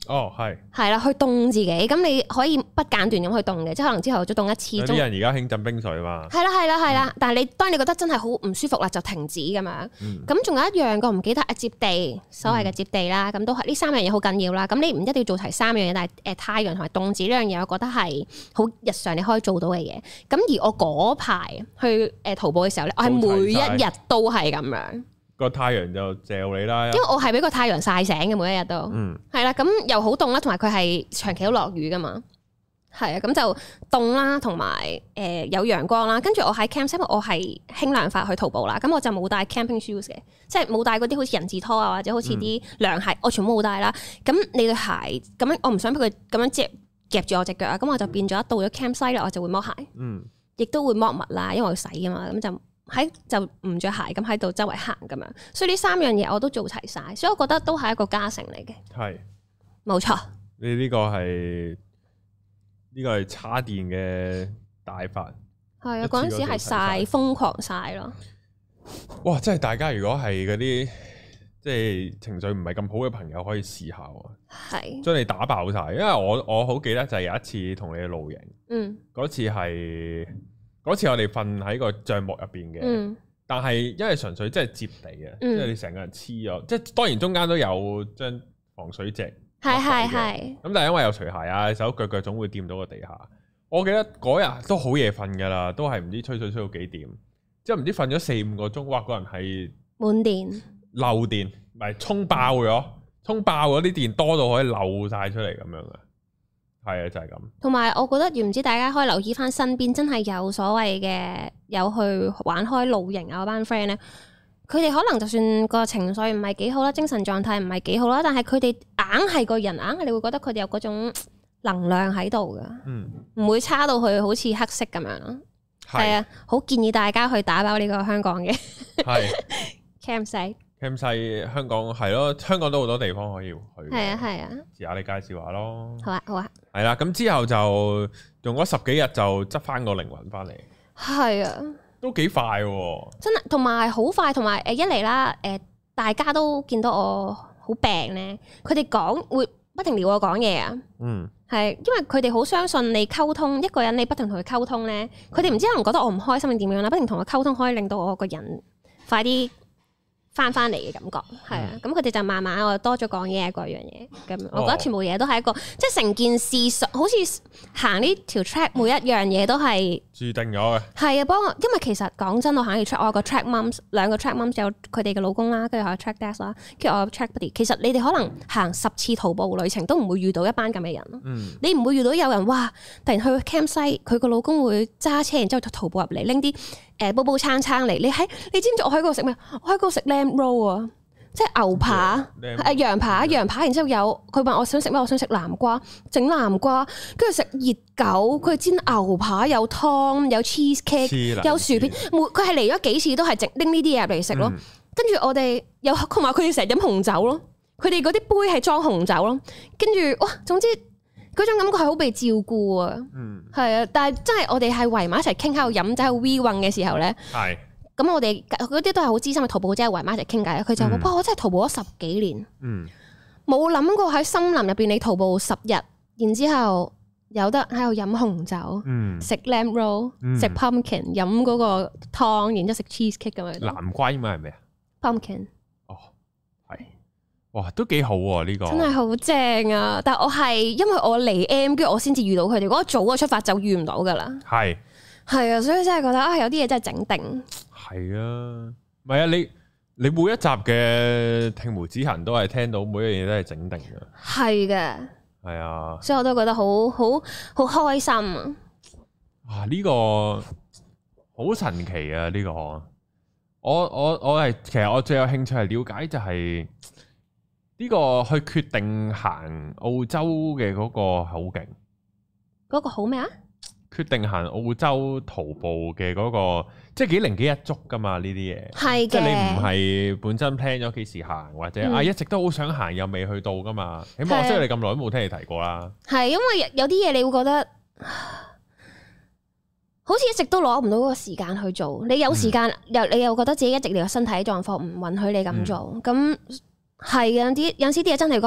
哦，係係啦，去凍自己，咁你可以不間斷咁去凍嘅，即係可能朝頭早凍一次。有啲人而家興浸冰水嘛。係啦係啦係啦，嗯、但係你當你覺得真係好唔舒服啦，就停止咁樣。咁仲、嗯、有一樣個唔記得啊，接地，所謂嘅接地啦，咁、嗯、都係呢三樣嘢好緊要啦。咁你唔一定要做齊三樣嘢，但係誒太陽同埋凍子呢樣嘢，我覺得係好日常你可以做到嘅嘢。咁而我嗰排去誒徒步嘅時候咧，我係每一日都係咁樣。個太陽就照你啦， 因為我係俾個太陽曬醒嘅每一日都，係啦、嗯，咁又好凍啦，同埋佢係長期都落雨噶嘛，係啊，咁就凍啦，同埋誒有陽光啦，跟住我喺 camp，因為我係輕量化去徒步啦，咁我就冇帶 camping shoes 嘅，即係冇帶嗰啲好似人字拖啊，或者好似啲涼鞋，嗯、我全部冇帶啦。咁你對鞋咁樣，我唔想俾佢咁樣夾夾住我隻腳啊，咁我就變咗到咗 camp site 啦，我就會剝鞋，嗯，亦都會剝襪啦，因為我要洗噶嘛，咁就。喺就唔着鞋咁喺度周圍行咁樣，所以呢三樣嘢我都做齊晒，所以我覺得都係一個加成嚟嘅。係，冇錯。 你呢個係呢個係叉電嘅大法。 係啊，嗰陣時係曬瘋狂曬咯。 哇！真係大家如果係嗰啲即係情緒唔係咁好嘅朋友，可以試下喎。係。將你打爆晒，因為我我好記得就係有一次同你去露營。嗯。嗰次係。嗰次我哋瞓喺個帳幕入邊嘅，嗯、但係因為純粹即係接地嘅，即係、嗯、你成個人黐咗，即係當然中間都有張防水席， 係係係。咁但係因為有除鞋啊，手腳腳總會掂到個地下。我記得嗰日都好夜瞓㗎啦，都係唔知吹水吹到幾點，之後唔知瞓咗四五個鐘，哇！個人係滿電漏電，唔係充爆咗，充爆嗰啲電多到可以漏晒出嚟咁樣嘅。係啊，就係咁。同埋，我覺得，唔知大家可以留意翻身邊真係有所謂嘅，有去玩開露營啊嗰班 friend 咧，佢哋可能就算個情緒唔係幾好啦，精神狀態唔係幾好啦，但係佢哋硬係個人硬係，你會覺得佢哋有嗰種能量喺度噶，嗯，唔會差到去好似黑色咁樣咯。係啊，好建議大家去打包呢個香港嘅係 campsite。 咁細香港係咯，香港都好多地方可以去。 係啊係啊， 遲下你介紹下咯。 好啊好啊。係啦，咁之後就用咗十幾日就執翻個靈魂翻嚟。 係啊， 都幾快喎。真係， 同埋好快，同埋誒一嚟啦，誒大家都見到我好病咧，佢哋講會不停撩我講嘢啊。嗯，係，因為佢哋好相信你溝通一個人，你不停同佢溝通咧，佢哋唔知可能覺得我唔開心定點樣啦，不停同佢溝通可以令到我個人快啲翻翻嚟嘅感覺，係啊，咁佢哋就慢慢我多咗講嘢嗰樣嘢，咁我覺得全部嘢都係一個，哦、即係成件事好似行呢條 track，每一樣嘢都係注定咗嘅。 係啊，幫我，因為其實講真，我行呢條 track，我有個 track mums， 兩個 track mums 有佢哋嘅老公啦，跟住我有 track dads 啦，跟住我有 track buddy。其實你哋可能行十次徒步旅程都唔會遇到一班咁嘅人咯。嗯、你唔會遇到有人哇，突然去 campsite，佢個老公會揸車，然之後徒步入嚟拎啲誒煲煲撐撐嚟。你喺你知唔知我喺嗰度食咩？我喺嗰度食 lamb roll 啊，即係牛扒，誒羊扒，羊扒，然之後有佢問我想食咩，我想食南瓜，整南瓜，跟住食熱狗，佢煎牛扒，有湯，有 cheese cake，有薯片，每佢係嚟咗幾次都係整拎呢啲嘢入嚟食咯。跟住、嗯、我哋有同埋佢哋成日飲紅酒咯，佢哋嗰啲杯係裝紅酒咯。跟住哇，總之嗰種感覺係好被照顧啊。嗯，係啊，但係真係我哋係圍埋一齊傾喺度飲酒 we 運嘅時候咧，係。咁我哋嗰啲都係好資深嘅徒步者，圍埋一齊傾偈。佢就話：哇！我真係徒步咗十幾年，冇諗、嗯、過喺森林入邊你徒步十日，然之後有得喺度飲紅酒，食 lamb roll，食 pumpkin，飲嗰個湯，然之後食 cheese cake 咁樣。 南瓜應該係咩啊 ？pumpkin。哦， 係，哇，都幾好喎呢個。真係好正啊！但係我係因為我嚟 M，跟住我先至遇到佢哋。如果早嘅出發就遇唔到噶啦。係係啊，所以真係覺得啊，有啲嘢真係整定。 係啊，唔係啊，你你每一集嘅聽梅之行都係聽到每一樣嘢都係整定嘅， 係嘅，係啊，所以我都覺得好好好開心啊！ 啊，呢個好神奇啊！呢個我我我係其實我最有興趣係了解就係呢個去決定行澳洲嘅嗰個好勁， 嗰個好咩啊？ 決定行澳洲徒步嘅嗰個，即係幾零幾日足噶嘛呢啲嘢，係嘅，即係你唔係本身 plan 咗幾時行，或者、嗯、啊一直都好想行又未去到噶嘛，起碼我識你咁耐都冇聽你提過啦。係因為有啲嘢你會覺得，好似一直都攞唔到嗰個時間去做。你有時間又、嗯、你又覺得自己一直你個身體狀況唔允許你咁做，咁係有啲有時啲嘢真係覺得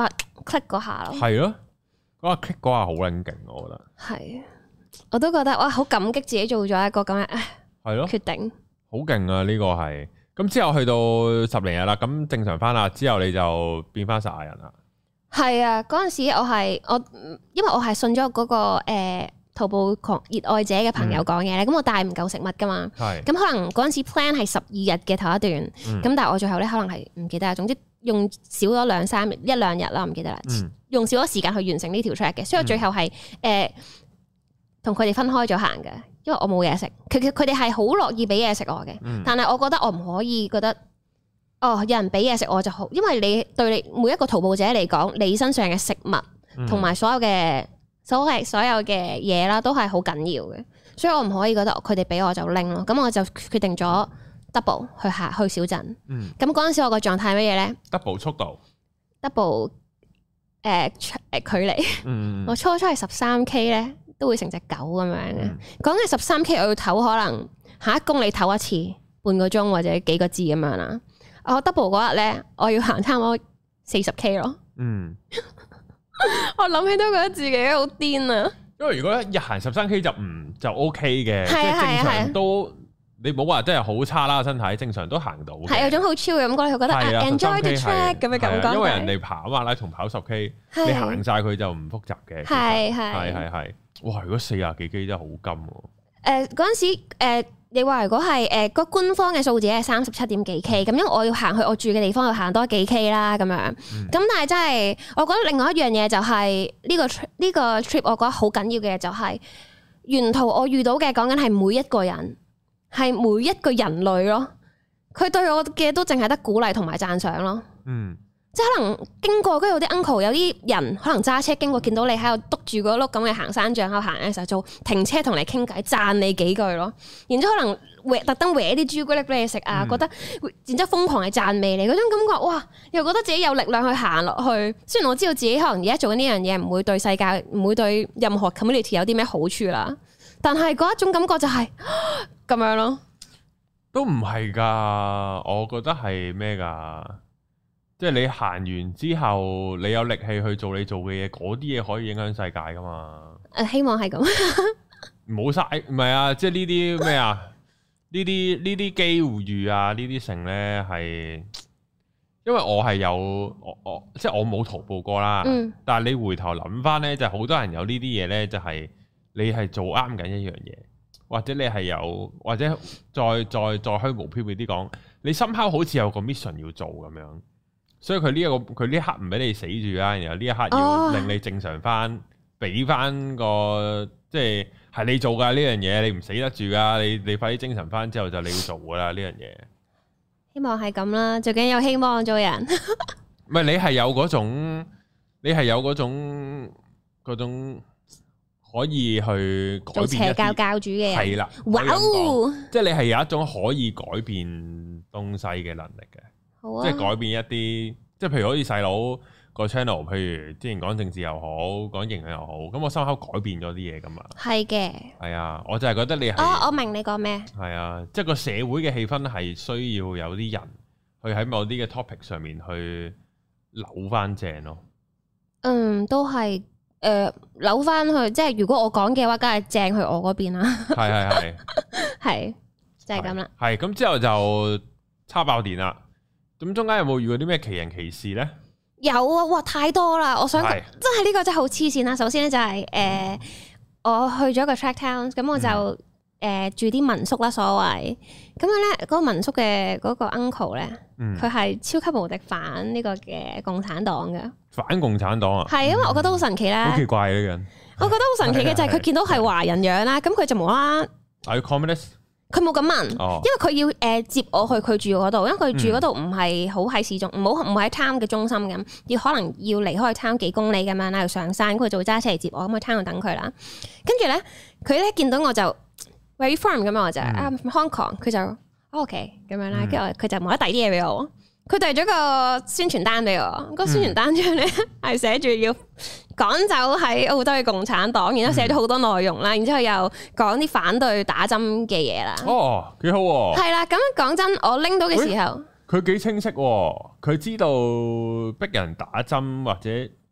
click 嗰下咯。 係咯，嗰下 click 嗰下好撚勁，我覺得。 係，我都覺得哇，好感激自己做咗一個咁樣係咯決定。好勁啊！呢個係咁之後去到十零日啦，咁正常翻啦，之後你就變翻撒亞人啦。係啊，嗰陣時我係我，因為我係信咗嗰、嗰個誒。呃徒步狂熱愛者嘅朋友講嘢咧，咁、嗯、我帶唔夠食物噶嘛，咁是可能嗰陣時 plan 係十二日嘅頭一段，咁、嗯、但係我最後咧可能係唔記得啦，總之用少咗兩三日一兩日啦，唔記得啦，嗯、用少咗時間去完成呢條 track 嘅，所以我最後係誒同佢哋分開咗行嘅，因為我冇嘢食，佢佢佢哋係好樂意俾嘢食我嘅，嗯、但係我覺得我唔可以覺得哦有人俾嘢食我就好，因為你對你每一個徒步者嚟講，你身上嘅食物同埋所有嘅。所謂所有嘅嘢啦，都係好緊要嘅，所以我唔可以覺得佢哋俾我就拎咯。咁我就決定咗 double 去下去小鎮。嗯。咁嗰陣時我個狀態係乜嘢咧 ？double 速度。 double 誒、呃、誒距離。嗯。我初初係十三 K 咧，都會成隻狗咁樣嘅。講緊十三 K，我要唞可能下一公里唞一次，半個鐘或者幾個字咁樣啦。我 double 嗰日咧，我要行差唔多四十 K 咯。嗯。我諗起都覺得自己好癲啊！因為如果日行十三 K 就唔就 OK 嘅，即係正常都你冇話真係好差啦，身體正常都行到。係有種好超嘅感覺，佢覺得 enjoy the track 咁嘅感覺。因為人哋跑馬拉松跑十 K，你行晒佢就唔複雜嘅。係係係係，哇！如果四廿幾 K 真係好金。誒，嗰陣時誒。你話如果係誒個官方嘅數字係三十七點幾 K，咁因為我要行去我住嘅地方要行多幾 K 啦，咁樣。咁、嗯、但係真係，我覺得另外一樣嘢就係呢、這個呢、這個 trip，我覺得好緊要嘅就係沿途我遇到嘅講緊係每一個人，係每一個人類咯。佢對我嘅都淨係得鼓勵同埋讚賞咯。嗯。即係可能經過，跟住有啲 uncle 有啲人可能揸車經過，見到你喺度篤住嗰碌咁嘅行山杖喺度行嘅時候，就停車同你傾偈，讚你幾句咯。然之後可能搲特登搲啲朱古力俾你食啊，嗯、覺得然之後瘋狂係讚美你嗰種感覺，哇！又覺得自己有力量去行落去。雖然我知道自己可能而家做緊呢樣嘢唔會對世界唔會對任何 community 有啲咩好處啦，但係嗰一種感覺就係、是、咁樣咯。都唔係㗎，我覺得係咩㗎？即係你行完之後，你有力氣去做你做嘅嘢，嗰啲嘢可以影響世界噶嘛？誒，希望係咁。冇晒，唔係啊！即係呢啲咩啊？呢啲呢啲機會遇啊，呢啲成咧係，因為我係有我我即係我冇徒步過啦。嗯。但係你回頭諗翻咧，就好、是、多人有呢啲嘢咧，就係、是、你係做啱緊一樣嘢，或者你係有，或者再再再虛無縹緲啲講，你深刻好似有個 mission 要做咁樣。所以佢呢一個佢呢一刻唔俾你死住啦，然後呢一刻要令你正常翻，俾翻個即係係你做噶呢樣嘢，你唔死得住噶，你你快啲精神翻之後就你要做噶啦呢樣嘢。希望係咁啦，最緊有希望做人。唔係你係有嗰種，你係有嗰種嗰種可以去改變做邪教教主嘅人。係啦，哇！即係你係有一種可以改變東西嘅能力嘅。即係改變一啲，即係譬如好似細佬個 channel，譬如之前講政治又好，講營養又好，咁我心口改變咗啲嘢噶嘛。係嘅。係啊，我就係覺得你係。哦，我明你講咩。係啊，即係個社會嘅氣氛係需要有啲人去喺某啲嘅 topic 上面去扭翻正咯。嗯，都係誒、呃、扭翻去，即係如果我講嘅話，梗係正去我嗰邊啦。係係係。係，就係咁啦。係，咁之後就叉爆電啦。咁中間有冇遇過啲咩奇人奇事咧？有啊，哇，太多啦！我想是真係呢個真係好黐線啦。首先咧就係、是、誒、呃，我去咗個 track town，咁我就誒、嗯呃、住啲民宿啦，所謂咁樣咧，嗰、那個民宿嘅嗰個 uncle 咧，佢係、嗯、超級無敵反呢個嘅共產黨嘅。反共產黨啊？係，因為我覺得好神奇啦。好、嗯、奇怪呢個人。我覺得好神奇嘅就係佢見到係華人樣啦，咁佢就無啦啦。Are you communist？佢冇咁問，哦、因為佢要誒、呃、接我去佢住嗰度，因為佢住嗰度唔係好喺市中，唔好唔喺 town 嘅中心咁，要可能要離開 town 幾公里咁樣啦，要上山，佢就會揸車嚟接我，咁去 town 度等佢啦。跟住咧，佢咧見到我就 where you from 咁樣，我就啊 Hong Kong，佢就 OK 咁樣啦，跟住佢就冇得遞啲嘢俾我。佢遞咗個宣傳單俾我，個宣傳單上咧係寫住要趕走喺澳洲嘅共產黨，然之後寫咗好多內容啦，然之後又講啲反對打針嘅嘢啦。哦，幾好喎！係啦，咁講真，我拎到嘅時候，佢幾清晰喎，佢知道逼人打針或者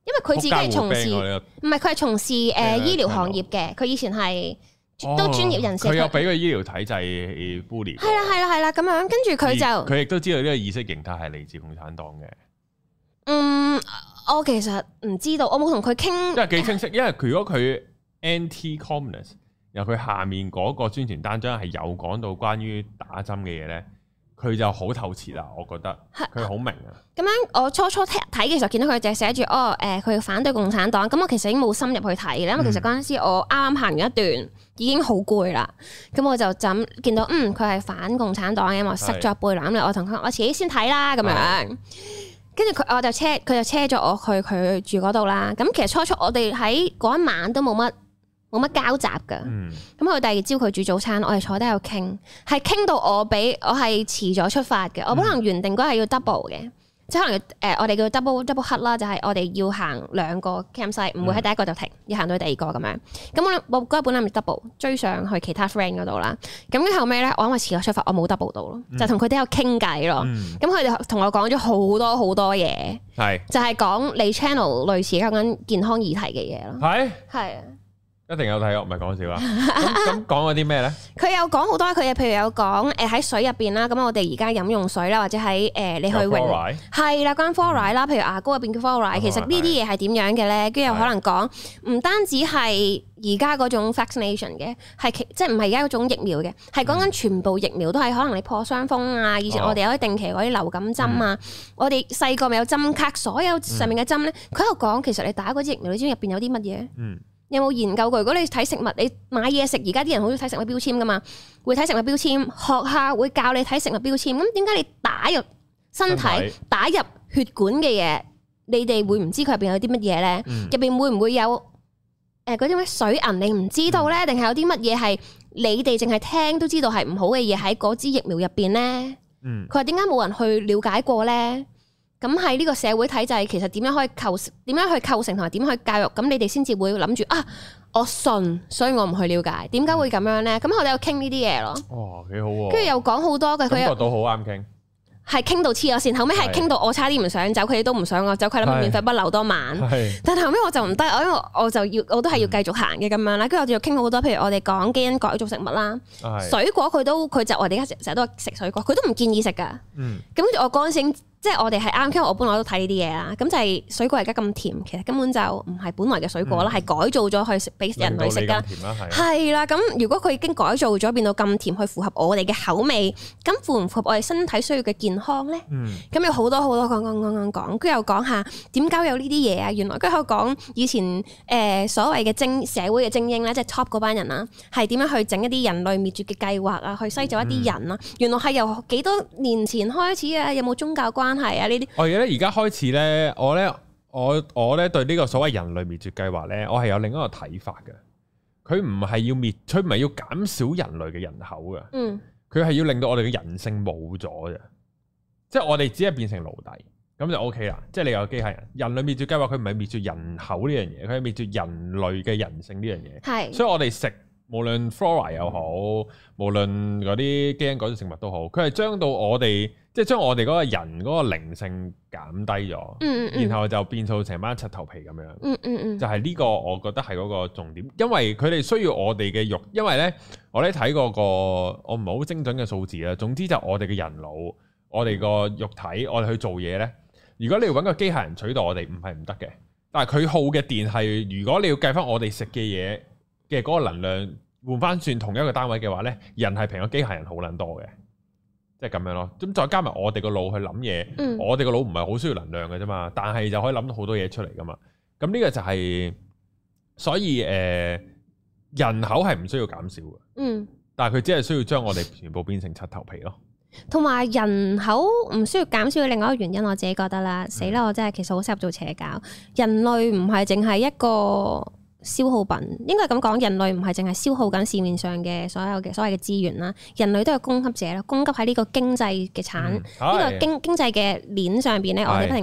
因為佢自己係從事，唔係佢係從事誒、呃、醫療行業嘅，佢以前係都專業人士。佢、哦、有俾個醫療體制 bully。係啦係啦係啦，咁樣跟住佢就佢亦都知道呢個意識形態係嚟自共產黨嘅。 嗯，我其實唔知道，我冇同佢傾。 因為幾清晰，因為佢如果佢 anti-communist， 然後佢下面嗰個宣傳單張係有講到關於打針嘅嘢咧。佢就好透徹啦，我覺得佢好明啊。咁樣我初初睇嘅時候見到佢就係寫住哦，誒佢反對共產黨。咁我其實已經冇深入去睇嘅，因為其實嗰陣時我啱啱行完一段已經好攰啦。咁我就就咁見到嗯佢係反共產黨嘅，我塞咗背囊咧，我同佢我自己先睇啦咁樣。跟住佢我就車佢就車咗我去佢住嗰度啦。咁其實初初我哋喺嗰一晚都冇乜。冇乜交集㗎，咁佢、嗯、第二朝佢煮早餐，我哋坐低喺度傾，係傾到我俾我係遲咗出發嘅，嗯、我本來原定嗰日要 double 嘅，即係可能誒、呃、我哋叫 double double cut 啦，就係我哋要行兩個 campsite，唔會喺第一個就停，要行到第二個咁樣。咁我我嗰日本來咪 double 追上去其他 friend 嗰度啦，咁跟後尾咧，我因為遲咗出發，我冇 double 到咯，嗯、就同佢哋喺度傾偈咯。咁佢哋同我講咗好多好多嘢，係是就係講你 channel 類似講緊健康議題嘅嘢咯，係係啊。 一定有睇，我唔係講笑啊！咁咁講嗰啲咩咧？佢有講好多佢嘅，譬如有講誒喺水入邊啦，咁我哋而家飲用水啦，或者喺誒、呃、你去泳係啦，關 fluoride 啦，譬如牙膏入邊嘅 fluoride，其實呢啲嘢係點樣嘅咧？跟住又可能講唔單止係而家嗰種 vaccination 嘅，係即係唔係而家嗰種疫苗嘅，係講緊全部疫苗都係可能你破傷風啊，以前我哋有啲定期嗰啲流感針啊，嗯、我哋細個咪有針卡，所有上面嘅針咧，佢喺度講其實你打嗰支疫苗，你知唔知入邊有啲乜嘢？嗯。有冇研究過？如果你睇食物，你買嘢食，而家啲人好中意睇食物標籤噶嘛？會睇食物標籤，學校會教你睇食物標籤。咁點解你打入身體、身體打入血管嘅嘢，你哋會唔知佢入邊有啲乜嘢咧？入邊、嗯、會唔會有誒嗰啲咩水銀？你唔知道咧，定係、嗯、有啲乜嘢係你哋淨係聽都知道係唔好嘅嘢喺嗰支疫苗入邊咧？佢話點解冇人去了解過咧？咁喺呢個社會體制，其實點樣可以構點樣去構成同埋點去教育？咁你哋先至會諗住啊，我信，所以我唔去了解，點解會咁樣咧？咁我哋有傾呢啲嘢咯。哦，幾好喎！跟住又講好多嘅，佢感覺到好啱傾。 係傾到黐咗線，後尾係傾到我差啲唔想走，佢哋都唔想我走，佢諗免費不留多晚。但係後尾我就唔得，我因為我就要我都係要繼續行嘅咁樣啦。跟住我哋又傾好多，譬如我哋講基因改造食物啦，水果佢都佢就我哋而家成日都食水果，佢都唔建議食噶。咁跟住我嗰陣時。即係我哋係啱，因為我本來都睇呢啲嘢啦。咁就係水果而家咁甜，其實根本就唔係本來嘅水果啦，係、嗯、改造咗去食俾人類食噶。係啦，咁如果佢已經改造咗變到咁甜，去符合我哋嘅口味，咁符唔符合我哋身體需要嘅健康咧？咁、嗯、有好多好多講講講講講，跟住又講下點解有呢啲嘢啊？原來跟住講以前誒、呃、所謂嘅精社會嘅精英咧，即係 top 嗰班人啊，係點樣去整一啲人類滅絕嘅計劃啊，去篩走一啲人啊？嗯、原來係由幾多年前開始啊？有冇宗教關係啊？呢啲我而家咧，而家開始咧，我咧，我我咧對呢個所謂人類滅絕計劃咧，我係有另一個睇法嘅。佢唔係要滅，佢唔係要減少人類嘅人口嘅。嗯，佢係要令到我哋嘅人性冇咗嘅，即係我哋只係變成奴隸，咁就 O K 啦。即係你有機械人，人類滅絕計劃，佢唔係滅絕人口呢樣嘢，佢係滅絕人類嘅人性呢樣嘢。係，所以我哋食無論 flora 又好，無論嗰啲基因改造食物都好，佢係將到我哋。即係將我哋嗰個人嗰個靈性減低咗，嗯嗯、然後就變做成班柒頭皮咁樣。嗯嗯嗯、就係呢個我覺得係嗰個重點，因為佢哋需要我哋嘅肉。因為咧，我咧睇過個我唔係好精準嘅數字啦。總之就我哋嘅人腦，我哋個肉體，我哋去做嘢咧。如果你要揾個機械人取代我哋，唔係唔得嘅。但係佢耗嘅電係，如果你要計翻我哋食嘅嘢嘅嗰個能量換翻算同一個單位嘅話咧，人係平過機械人好撚多嘅。即係咁樣咯，咁再加埋我哋個腦去諗嘢，嗯、我哋個腦唔係好需要能量嘅啫嘛，但係就可以諗到好多嘢出嚟噶嘛。咁呢個就係、是，所以誒、呃，人口係唔需要減少嘅，嗯，但係佢只係需要將我哋全部變成柒頭皮咯。同埋人口唔需要減少嘅另外一個原因，我自己覺得啦，死啦！我真係其實好適合做邪教。人類唔係淨係一個消耗品，應該咁講，人類唔係淨係消耗緊市面上嘅所有嘅所謂嘅資源啦，人類都係供給者啦，供給喺呢個經濟嘅產呢、嗯、個經經濟嘅鏈上邊咧，我哋不停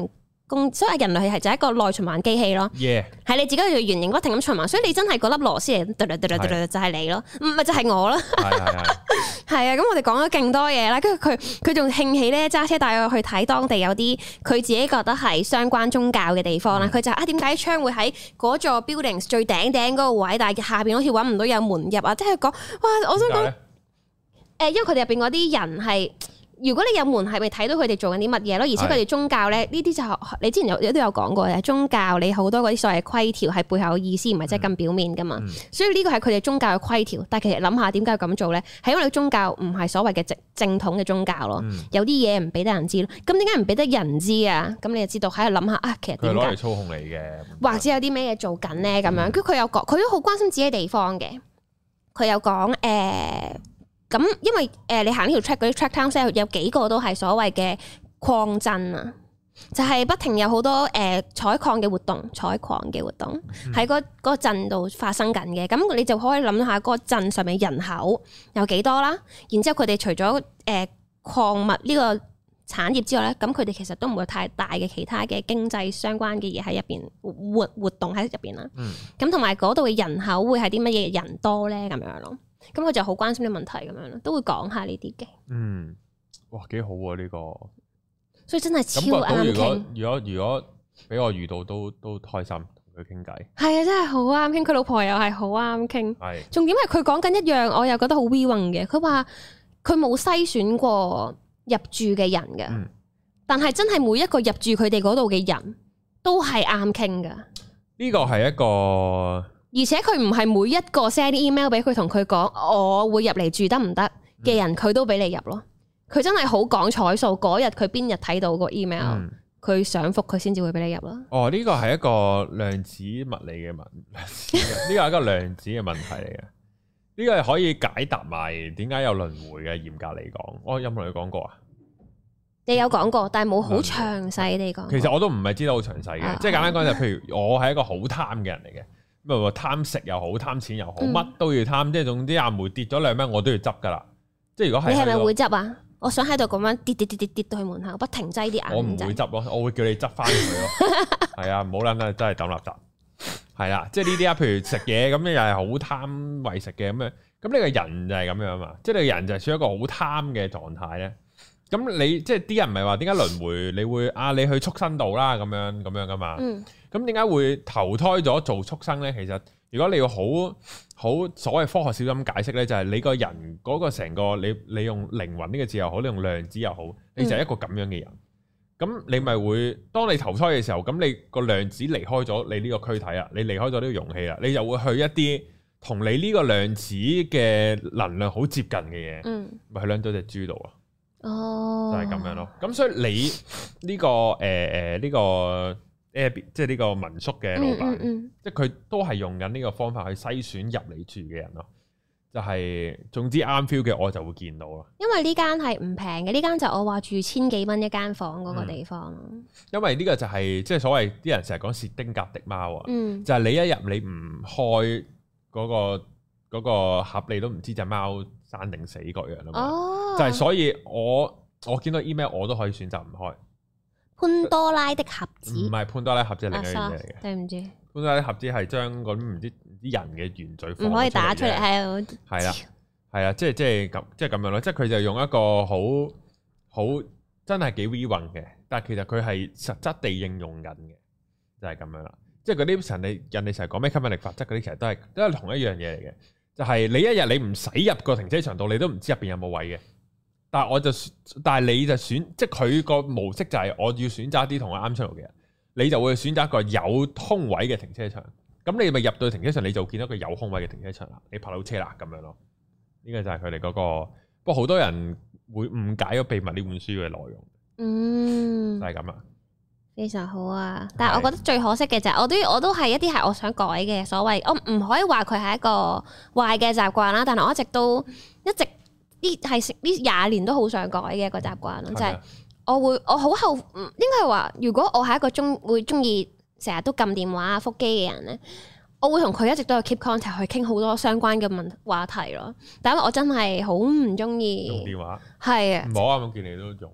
公，所以人類係就係一個內循環機器咯。係 Yeah. 你自己要圓形不停咁循環，所以你真係嗰粒螺絲嚟，就係你咯，唔係就係我咯。係係係。係啊，咁我哋講咗勁多嘢啦，跟住佢佢仲興起咧揸車帶我去睇當地有啲佢自己覺得係相關宗教嘅地方啦。佢、嗯、就啊點解窗會喺嗰座 buildings 最頂頂嗰個位，但係下邊好似揾唔到有門入啊？即係講哇，我想講誒，因為佢哋入邊嗰啲人係。如果你有門係咪睇到佢哋做緊啲乜嘢咯？而且佢哋宗教咧，呢啲就你之前有都有講過嘅宗教，你好多嗰啲所謂規條係背後嘅意思，唔係真係咁表面噶嘛。嗯、所以呢個係佢哋宗教嘅規條。但係其實諗下點解要咁做咧？係因為你宗教唔係所謂嘅正正統嘅宗教咯。嗯、有啲嘢唔俾得人知咯。咁點解唔俾得人知啊？咁你就知道喺度諗下啊，其實點解佢攞嚟操控你嘅， 或者有啲咩嘢做緊咧？咁樣，跟住佢有講，佢都好關心自己地方嘅。佢有講誒。呃咁，因為誒、呃、你行呢條 track 嗰啲 track town 有幾個都係所謂嘅礦鎮啊，就係、是、不停有好多誒、呃、採礦嘅活動、採礦嘅活動喺嗰嗰個鎮度發生緊嘅。咁你就可以諗下嗰個鎮上面人口有幾多啦。然之後佢哋除咗誒、呃、礦物呢個產業之外咧，咁佢哋其實都唔會有太大嘅其他嘅經濟相關嘅嘢喺入邊活活動喺入邊啦。咁同埋嗰度嘅人口會係啲乜嘢人多咧？咁樣咯。咁佢就好關心啲問題咁樣咯，都會講下呢啲嘅。嗯， 哇，幾好啊呢、這個！ 所以真係超啱傾。 如果如果俾我遇到都都開心同佢傾偈。係啊，真係好啱傾。佢老婆又係好啱傾。係是。重點係佢講緊一樣，我又覺得好 we 嘅。佢話佢冇篩選過入住嘅人嘅，嗯、但係真係每一個入住佢哋嗰度嘅人都係啱傾噶。 呢個係一個。 而且佢唔係每一個 send email 俾佢同佢講我會入嚟住得唔得嘅人，佢、嗯、都俾你入咯。佢真係好講彩數，嗰日佢邊日睇到個 email，佢、嗯、想覆佢先至會俾你入咯。哦， 呢個係一個量子物理嘅問，呢個係一個量子嘅問題嚟嘅。呢個係可以解答埋點解有輪迴嘅。嚴格嚟講，我有冇同你講過啊？ 你有講過，但係冇好詳細地講。 其實我都唔係知道好詳細嘅，啊、即係簡單講就譬如我係一個好貪嘅人嚟嘅。咁啊，貪食又好，貪錢又好，乜、嗯、都要貪，即係總之阿梅跌咗兩蚊，我都要執噶啦。即係如果係，你係咪會執啊？我想喺度咁樣跌跌跌跌跌到去門口，不停擠啲眼。 我唔會執咯，我會叫你執翻佢咯。係啊，唔好諗啦，真係抌垃圾。係啦，即係呢啲啊，譬如食嘢咁，又係好貪為食嘅咁樣。咁你個人就係咁樣嘛，即係你個人就係處於一個好貪嘅狀態咧。咁你即係啲人唔係話點解輪迴？你會啊，你去畜生道啦，咁樣咁樣噶嘛。嗯。咁點解會投胎咗做畜生咧？其實如果你要好好所謂科學少咁解釋咧，就係、是、你個人嗰個成個你你用靈魂呢個字又好，你用量子又好，你就係一個咁樣嘅人。咁、嗯、你咪會當你投胎嘅時候，咁你個量子離開咗你呢個軀體啊，你離開咗呢個容器啦，你就會去一啲同你呢個量子嘅能量好接近嘅嘢，嗯，咪去兩咗隻豬度啊。哦，就係咁樣咯。咁所以你呢、這個誒誒呢個。即係呢個民宿嘅老闆，嗯嗯嗯、即係佢都係用緊呢個方法去篩選入嚟住嘅人咯。就係、是、總之啱 feel 嘅，我就會見到咯。 因為呢間係唔平嘅，呢間就我話住千幾蚊一間房嗰個地方。嗯、 因為呢個就係、是、即係所謂啲人成日講薛丁格的貓啊，嗯、就係你一入你唔開嗰、那個那個盒，你都唔知隻貓生定死嗰樣啊嘛。哦、就係所以我我見到 email 我都可以選擇唔開。 潘多拉的盒子唔係潘多拉盒子，係另一樣嘢嚟嘅。 對唔住， 潘多拉的盒子係將嗰啲唔知啲人嘅原罪放唔可以打出嚟，係啊， 係啊，係啊，即係即係咁，即係咁樣咯。即係佢就用一個好好真係幾 we 運嘅，但係其實佢係實質地應用緊嘅，就係、是、咁樣啦。即係嗰啲人哋人哋成日講咩吸引力法則嗰啲，其實都係都係同一樣嘢嚟嘅。就係、是、你一日你唔使入個停車場度，你都唔知入邊有冇位嘅。但係我就，但係你就選，即係佢個模式就係我要選擇一啲同我啱出路嘅人，你就會選擇一個有空位嘅停車場。咁你咪入到停車場，你就見到個有空位嘅停車場啦，你泊到車啦咁樣咯。呢、這個就係佢哋嗰個，不過好多人會誤解咗秘密呢本書嘅內容。嗯，就係咁啊， 非常好啊！但係我覺得最可惜嘅就係，我都我都係一啲係我想改嘅所謂，我唔可以話佢係一個壞嘅習慣啦。但係我一直都一直。呢係呢廿年都好想改嘅一個習慣咯，就係我會我好後，應該係話如果我係一個中會中意成日都撳電話啊覆機嘅人咧，我會同佢一直都有 keep contact 去傾好多相關嘅問話題咯。但係我真係好唔中意用電話， 係啊， 唔好啊！我見你都用，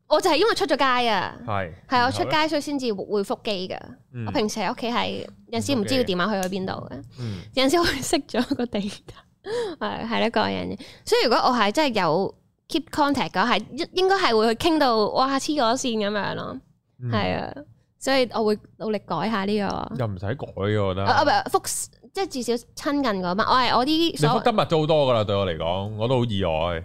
我就係因為出咗街啊， 係係我出街所以先至會覆機噶。我平時喺屋企係有陣時唔知個電話去咗邊度嘅，有陣時我會熄咗個地圖，係係一個人嘅。所以如果我係真係有 keep contact 嘅，係應應該係會去傾到哇黐咗線咁樣咯，係啊，所以我會努力改下呢個。又唔使改嘅，我覺得。 啊唔係覆，即係至少親近嗰班。我係我啲你覆得密咗好多噶啦，對我嚟講，我都好意外。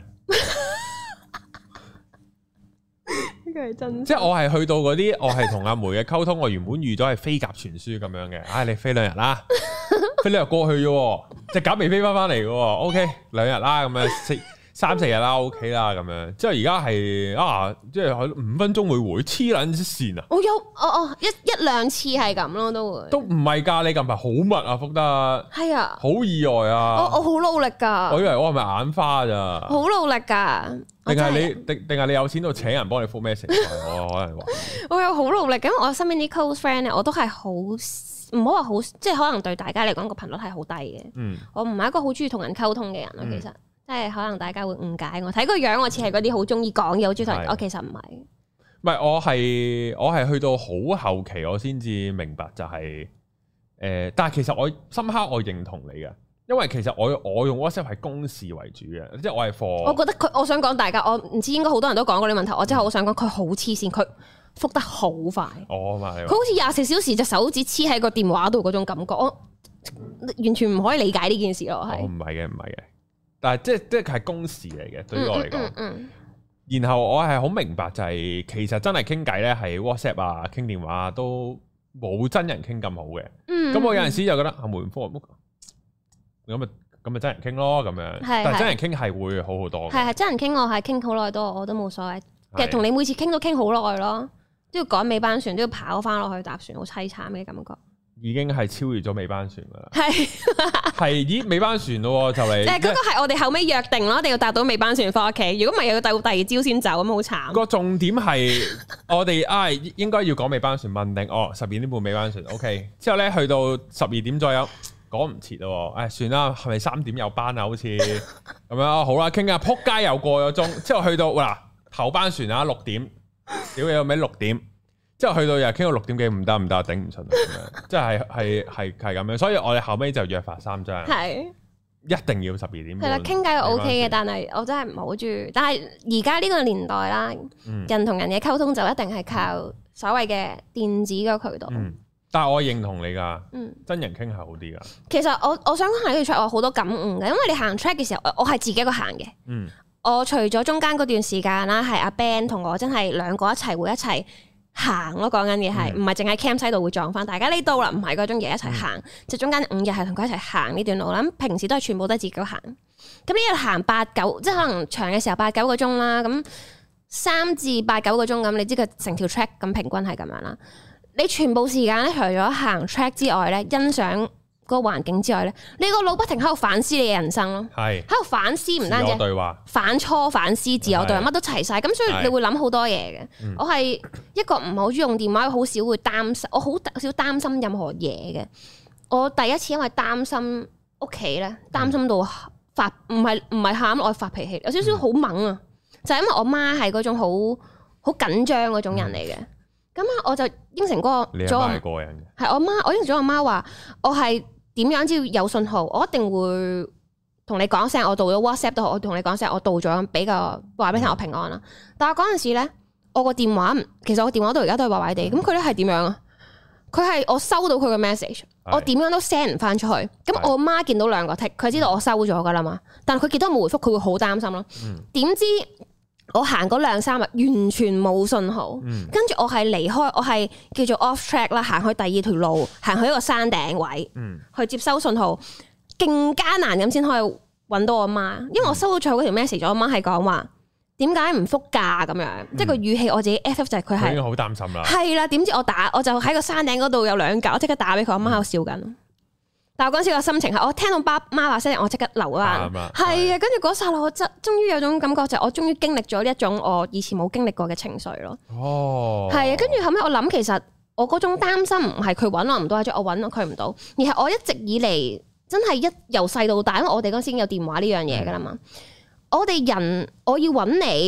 真即係我係去到嗰啲，我係同阿梅嘅溝通，我原本預咗係飛鴿傳書咁樣嘅。唉、哎，你飛兩日啦，飛兩日過去啫，隻鴿未飛翻翻嚟嘅。O K， 兩日啦，咁樣四三四日啦 ，O K 啦，咁樣。之後而家係啊，即係五分鐘會回，黐撚線啊！ 我有，哦哦，一一兩次係咁咯，都會。都唔係噶，你近排好密啊，福德。係啊。好意外啊！ 我我好努力噶。我以為我係咪眼花咋？ 好努力噶。 定係你定定係你有錢到請人幫你覆咩成？我可能話。 我有好努力，咁我身邊啲 close friend 咧，我都係好唔好話好，即係可能對大家嚟講個頻率係好低嘅。嗯。我唔係一個好中意同人溝通嘅人咯，其實。即係可能大家會誤解我，睇個樣我似係嗰啲好中意講嘢，好中意同人。我其實唔係， 唔係我係我係去到好後期，我先至明白就係、是、誒、呃，但係其實我深刻我認同你嘅，因為其實我我用 WhatsApp 係公事為主嘅，即係我係 for。 我覺得佢，我想講大家，我唔知應該好多人都講過呢個問題，我真係好想講佢好黐線，佢覆得好快。 哦嘛，佢好似廿四小時隻手指黐喺個電話度嗰種感覺，我完全唔可以理解呢件事咯。係， 唔係嘅，唔係嘅。但係即係即係係公事嚟嘅，對於我嚟講。嗯嗯嗯、然後我係好明白就係、是，其實真係傾偈咧，係 WhatsApp 啊、傾電話、啊、都冇真人傾咁好嘅。咁、嗯嗯、我有陣時就覺得啊，梅科咁咪咁咪真人傾咯，咁樣。是是但係真人傾係會好好多。係係真人傾，我係傾好耐多，我都冇所謂。其實同你每次傾都傾好耐咯，都要趕尾班船，都要跑翻落去搭船，好凄慘嘅感覺。 已經係超越咗尾班船噶啦，係係咦尾班船咯就嚟，誒嗰個係我哋後尾約定咯，一定要搭到尾班船翻屋企，如果唔係又要到第二朝先走，咁好慘。 個重點係我哋啊應該要講尾班船問定哦十二點半尾班船 ，OK 之後咧去到十二點左右講唔切咯，誒、哎、算啦，係咪三點有班啊？好似咁樣好啦，傾下撲街又過咗鐘，之後去到嗱頭班船啊六點，屌你有咩六點？之後去到又傾到六點幾唔得唔得，頂唔順咁樣，即係係係係咁樣，所以我哋後尾就約法三章，係一定要十二點。係啦，傾偈 O K 嘅，但係我真係唔好中意。但係而家呢個年代啦，嗯、人同人嘅溝通就一定係靠所謂嘅電子嘅渠道。嗯，但係我認同你噶，嗯，真人傾係好啲噶。其實我我想講喺呢條 track 我好多感悟嘅，因為你行 track 嘅時候，我係自己一個行嘅。嗯，我除咗中間嗰段時間啦，係阿 Ben 同我真係兩個一齊會一齊。行咯，講緊嘅係唔係淨喺 campsite 度會撞翻，大家呢度啦，唔係嗰種嘢一齊行，嗯、就中間五日係同佢一齊行呢段路啦。咁平時都係全部都係自己行，咁呢日行八九，即係可能長嘅時候八九個鐘啦，咁三至八九個鐘咁，你知佢成條 track 咁平均係咁樣啦。你全部時間咧，除咗行 track 之外咧，欣賞個環境之外咧，你個腦不停喺度反思你嘅人生咯，係喺度反思，唔單止對話反芻反思自我對話，乜都齊晒，咁所以你會諗好多嘢嘅。嗯、我係一個唔係好中意用電話，好少會擔心，我好少擔心任何嘢嘅。我第一次因為擔心屋企咧，擔心到發唔係唔係喊，我發脾氣，有少少好猛啊！嗯、就係因為我媽係嗰種好好緊張嗰種人嚟嘅，咁啊、嗯、我就應承嗰個，你媽係個人嘅，係我媽，我應承咗我媽話，我係。點樣只要有信號，我一定會同你講聲，我到咗 WhatsApp 都好，我同你講聲，我到咗，比較話俾你聽我平安啦。但係嗰陣時咧，我個電話，其實我電話到而家都係壞壞地。咁佢咧係點樣啊？佢係我收到佢嘅 message，是我點樣都 send 唔翻出去。咁我媽見到兩個 tick，佢知道我收咗噶啦嘛。但係佢見到我冇回覆，佢會好擔心咯。點、嗯、知我行嗰兩三日完全冇信號，跟住、嗯、我係離開，我係叫做 off track 啦，行去第二條路，行去一個山頂位，嗯、去接收信號，勁艱難咁先可以揾到我媽，因為我收到最後嗰條 message，我媽係講話點解唔覆㗎咁樣，嗯、即係個語氣我自己 F F 就係佢係已經好擔心啦，係啦，點知我打我就喺個山頂嗰度有兩格，我即刻打俾佢，我媽喺度笑緊。嗯但係嗰陣時個心情係，我聽到爸媽話聲，我即刻流啊，係啊，跟住嗰剎那我真終於有種感覺，就係我終於經歷咗呢一種我以前冇經歷過嘅情緒咯。哦，係啊，跟住後尾我諗，其實我嗰種擔心唔係佢揾我唔到，或者我揾佢唔到，而係我一直以嚟真係一由細到大，因為我哋嗰陣時已經有電話呢樣嘢噶啦嘛。嗯、我哋人我要揾你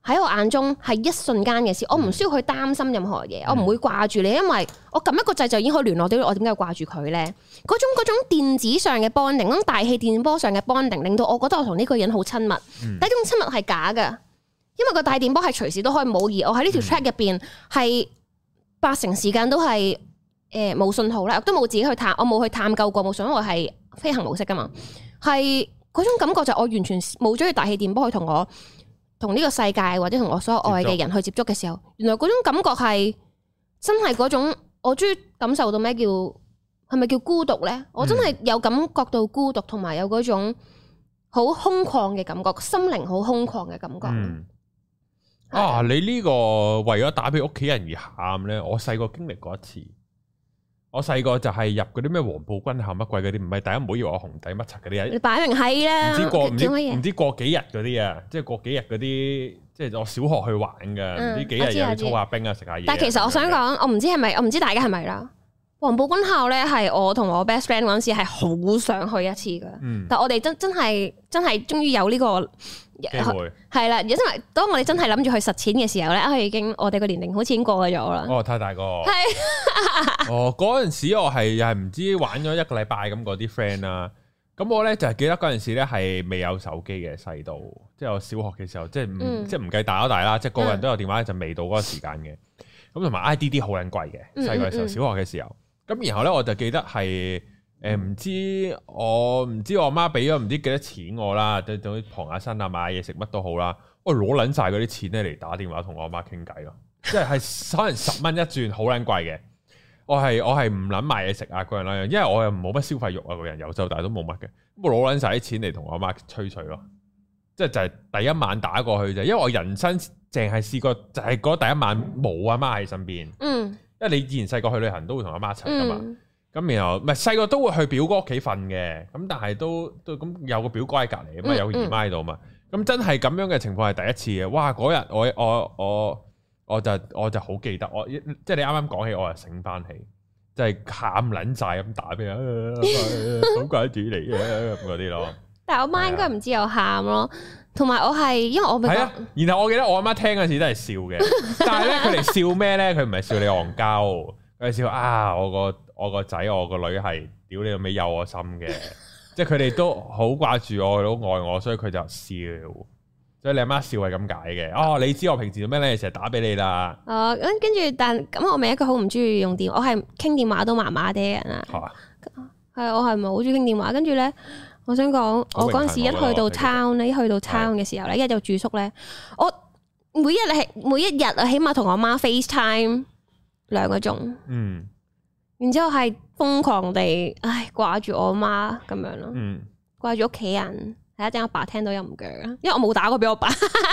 喺我眼中係一瞬間嘅事，我唔需要去擔心任何嘢，嗯、我唔會掛住你，因為我撳一個掣就已經可以聯絡到，我點解要掛住佢咧？嗰種嗰種電子上嘅 bonding，嗰種大氣電波上嘅 bonding，令到我覺得我同呢個人好親密。嗯、但係呢種親密係假㗎，因為個大電波係隨時都可以冇，而我喺呢條 track 入邊係八成時間都係誒冇信號啦，都冇自己去探，我冇去探究過，冇想我係飛行模式㗎嘛，係嗰種感覺就我完全冇咗個大氣電波去同我。同呢個世界或者同我所有愛嘅人去接觸嘅時候，原來嗰種感覺係真係嗰種，我終於感受到咩叫係咪叫孤獨呢？我真係有感覺到孤獨，同埋有嗰種好空曠嘅感覺，心靈好空曠嘅感覺。嗯、是啊，你呢個為咗打俾屋企人而喊呢？我細個經歷過一次。我細個就係入嗰啲咩黃埔軍校乜鬼嗰啲，唔係大家唔好以為我紅底乜柒嗰啲啊！你擺明係啦，唔知過唔知唔知過幾日嗰啲啊，即係過幾日嗰啲，即係我小學去玩㗎，唔、嗯、知幾日又去操下冰啊，食下嘢。但係其實我想講，我唔知係咪，我唔知大家係咪啦。黃埔軍校咧係我同我 best friend 嗰陣時係好想去一次㗎，嗯、但係我哋真真係真係終於有呢、這個機會係啦，因為當我哋真係諗住去實踐嘅時候咧，啊已經我哋個年齡好似已經過咗啦。哦，太大個係哦，嗰陣時我係又係唔知玩咗一個禮拜咁嗰啲 friend 啦。咁我咧就係記得嗰陣時咧係未有手機嘅細到，即係我小學嘅時候，即係唔、嗯、即係唔計大咗大啦，即係個個人都有電話就未到嗰個時間嘅。咁同埋 I D D 好撚貴嘅，細個嘅時候，小學嘅時候。咁然後咧我就記得係誒唔知我唔知我媽俾咗唔知幾多錢我啦，對對傍下身啊，買嘢食乜都好啦，我攞撚晒嗰啲錢咧嚟打電話同我媽傾偈咯，即係係可能十蚊一轉，好撚貴嘅。我係我係唔撚買嘢食啊嗰樣啦，因為我又冇乜消費欲啊，個人由細到大都冇乜嘅，咁我攞撚晒啲錢嚟同我媽吹水咯，即係就係第一晚打過去啫，因為我人生淨係試過就係嗰第一晚冇阿媽喺身邊。嗯。因為你以前細個去旅行都會同阿媽一齊噶嘛，咁、嗯、然後唔係細個都會去表哥屋企瞓嘅，咁但係都都咁有個表哥喺隔籬啊嘛，有個姨媽喺度嘛，咁、嗯、真係咁樣嘅情況係第一次嘅。哇！嗰日我我我我就我就好記得，我即係你啱啱講起，我就醒翻起，就係喊撚晒咁打俾人，好怪主嚟嘅咁嗰啲咯。但係我媽應該唔知有喊咯。同埋我係，因為我係啊，然後我記得我阿媽聽嗰時都係笑嘅，但係咧佢哋笑咩咧？佢唔係笑你戇鳩，佢係笑啊！我個我個仔我個女係屌你個尾有我心嘅，即係佢哋都好掛住我，都愛我，所以佢就笑。所以你阿媽笑係咁解嘅。哦，你知我平時做咩咧？成日打俾你啦。哦，咁跟住，但咁我咪一個好唔中意用電話，我係傾電話都麻麻哋嘅人啊。係啊，係我係唔係好中意傾電話？跟住咧。我想講，我嗰陣時一去到 town 咧，一去到 town 嘅時候咧，一就住宿咧，我每一日係每一日啊，起碼同我媽 FaceTime 兩個鐘，嗯，然之後係瘋狂地唉掛住我媽咁樣咯，嗯，掛住屋企人，睇下陣我爸聽到又唔鋸啦，因為我冇打過俾我爸。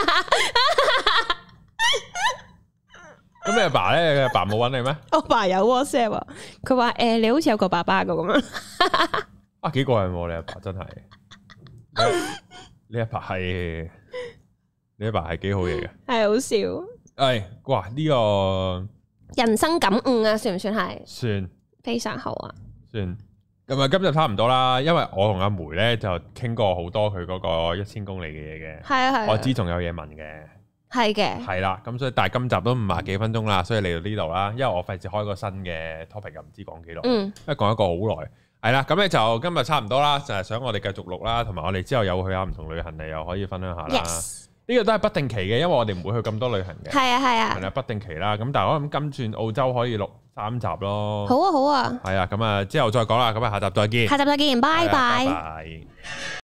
咁你阿爸咧？你阿爸冇揾你咩？我爸有 WhatsApp 啊，佢話誒你好似有個爸爸噶咁樣。啊，幾過癮喎！你阿爸真係，你阿爸係，你阿爸係幾好嘢嘅，係好笑。係哇，呢個人生感悟啊，算唔算係？算，非常好啊。算，咁啊，今日差唔多啦，因為我同阿梅咧就傾過好多佢嗰個一千公里嘅嘢嘅，係啊係。我知仲有嘢問嘅，係嘅，係啦。咁所以但係今集都五十幾分鐘啦，所以嚟到呢度啦，因為我費事開個新嘅 topic 又唔知講幾耐，嗯，因為講一個好耐。係啦，咁咧就今日差唔多啦，就係想我哋繼續錄啦，同埋我哋之後有去下唔同旅行，你又可以分享下啦。Yes，呢個都係不定期嘅，因為我哋唔會去咁多旅行嘅。係啊係啊，係啦，不定期啦。咁但係我諗今轉澳洲可以錄三集咯。好啊好啊。係啊，咁啊之後再講啦，咁啊下集再見。下集再見，拜拜。拜拜。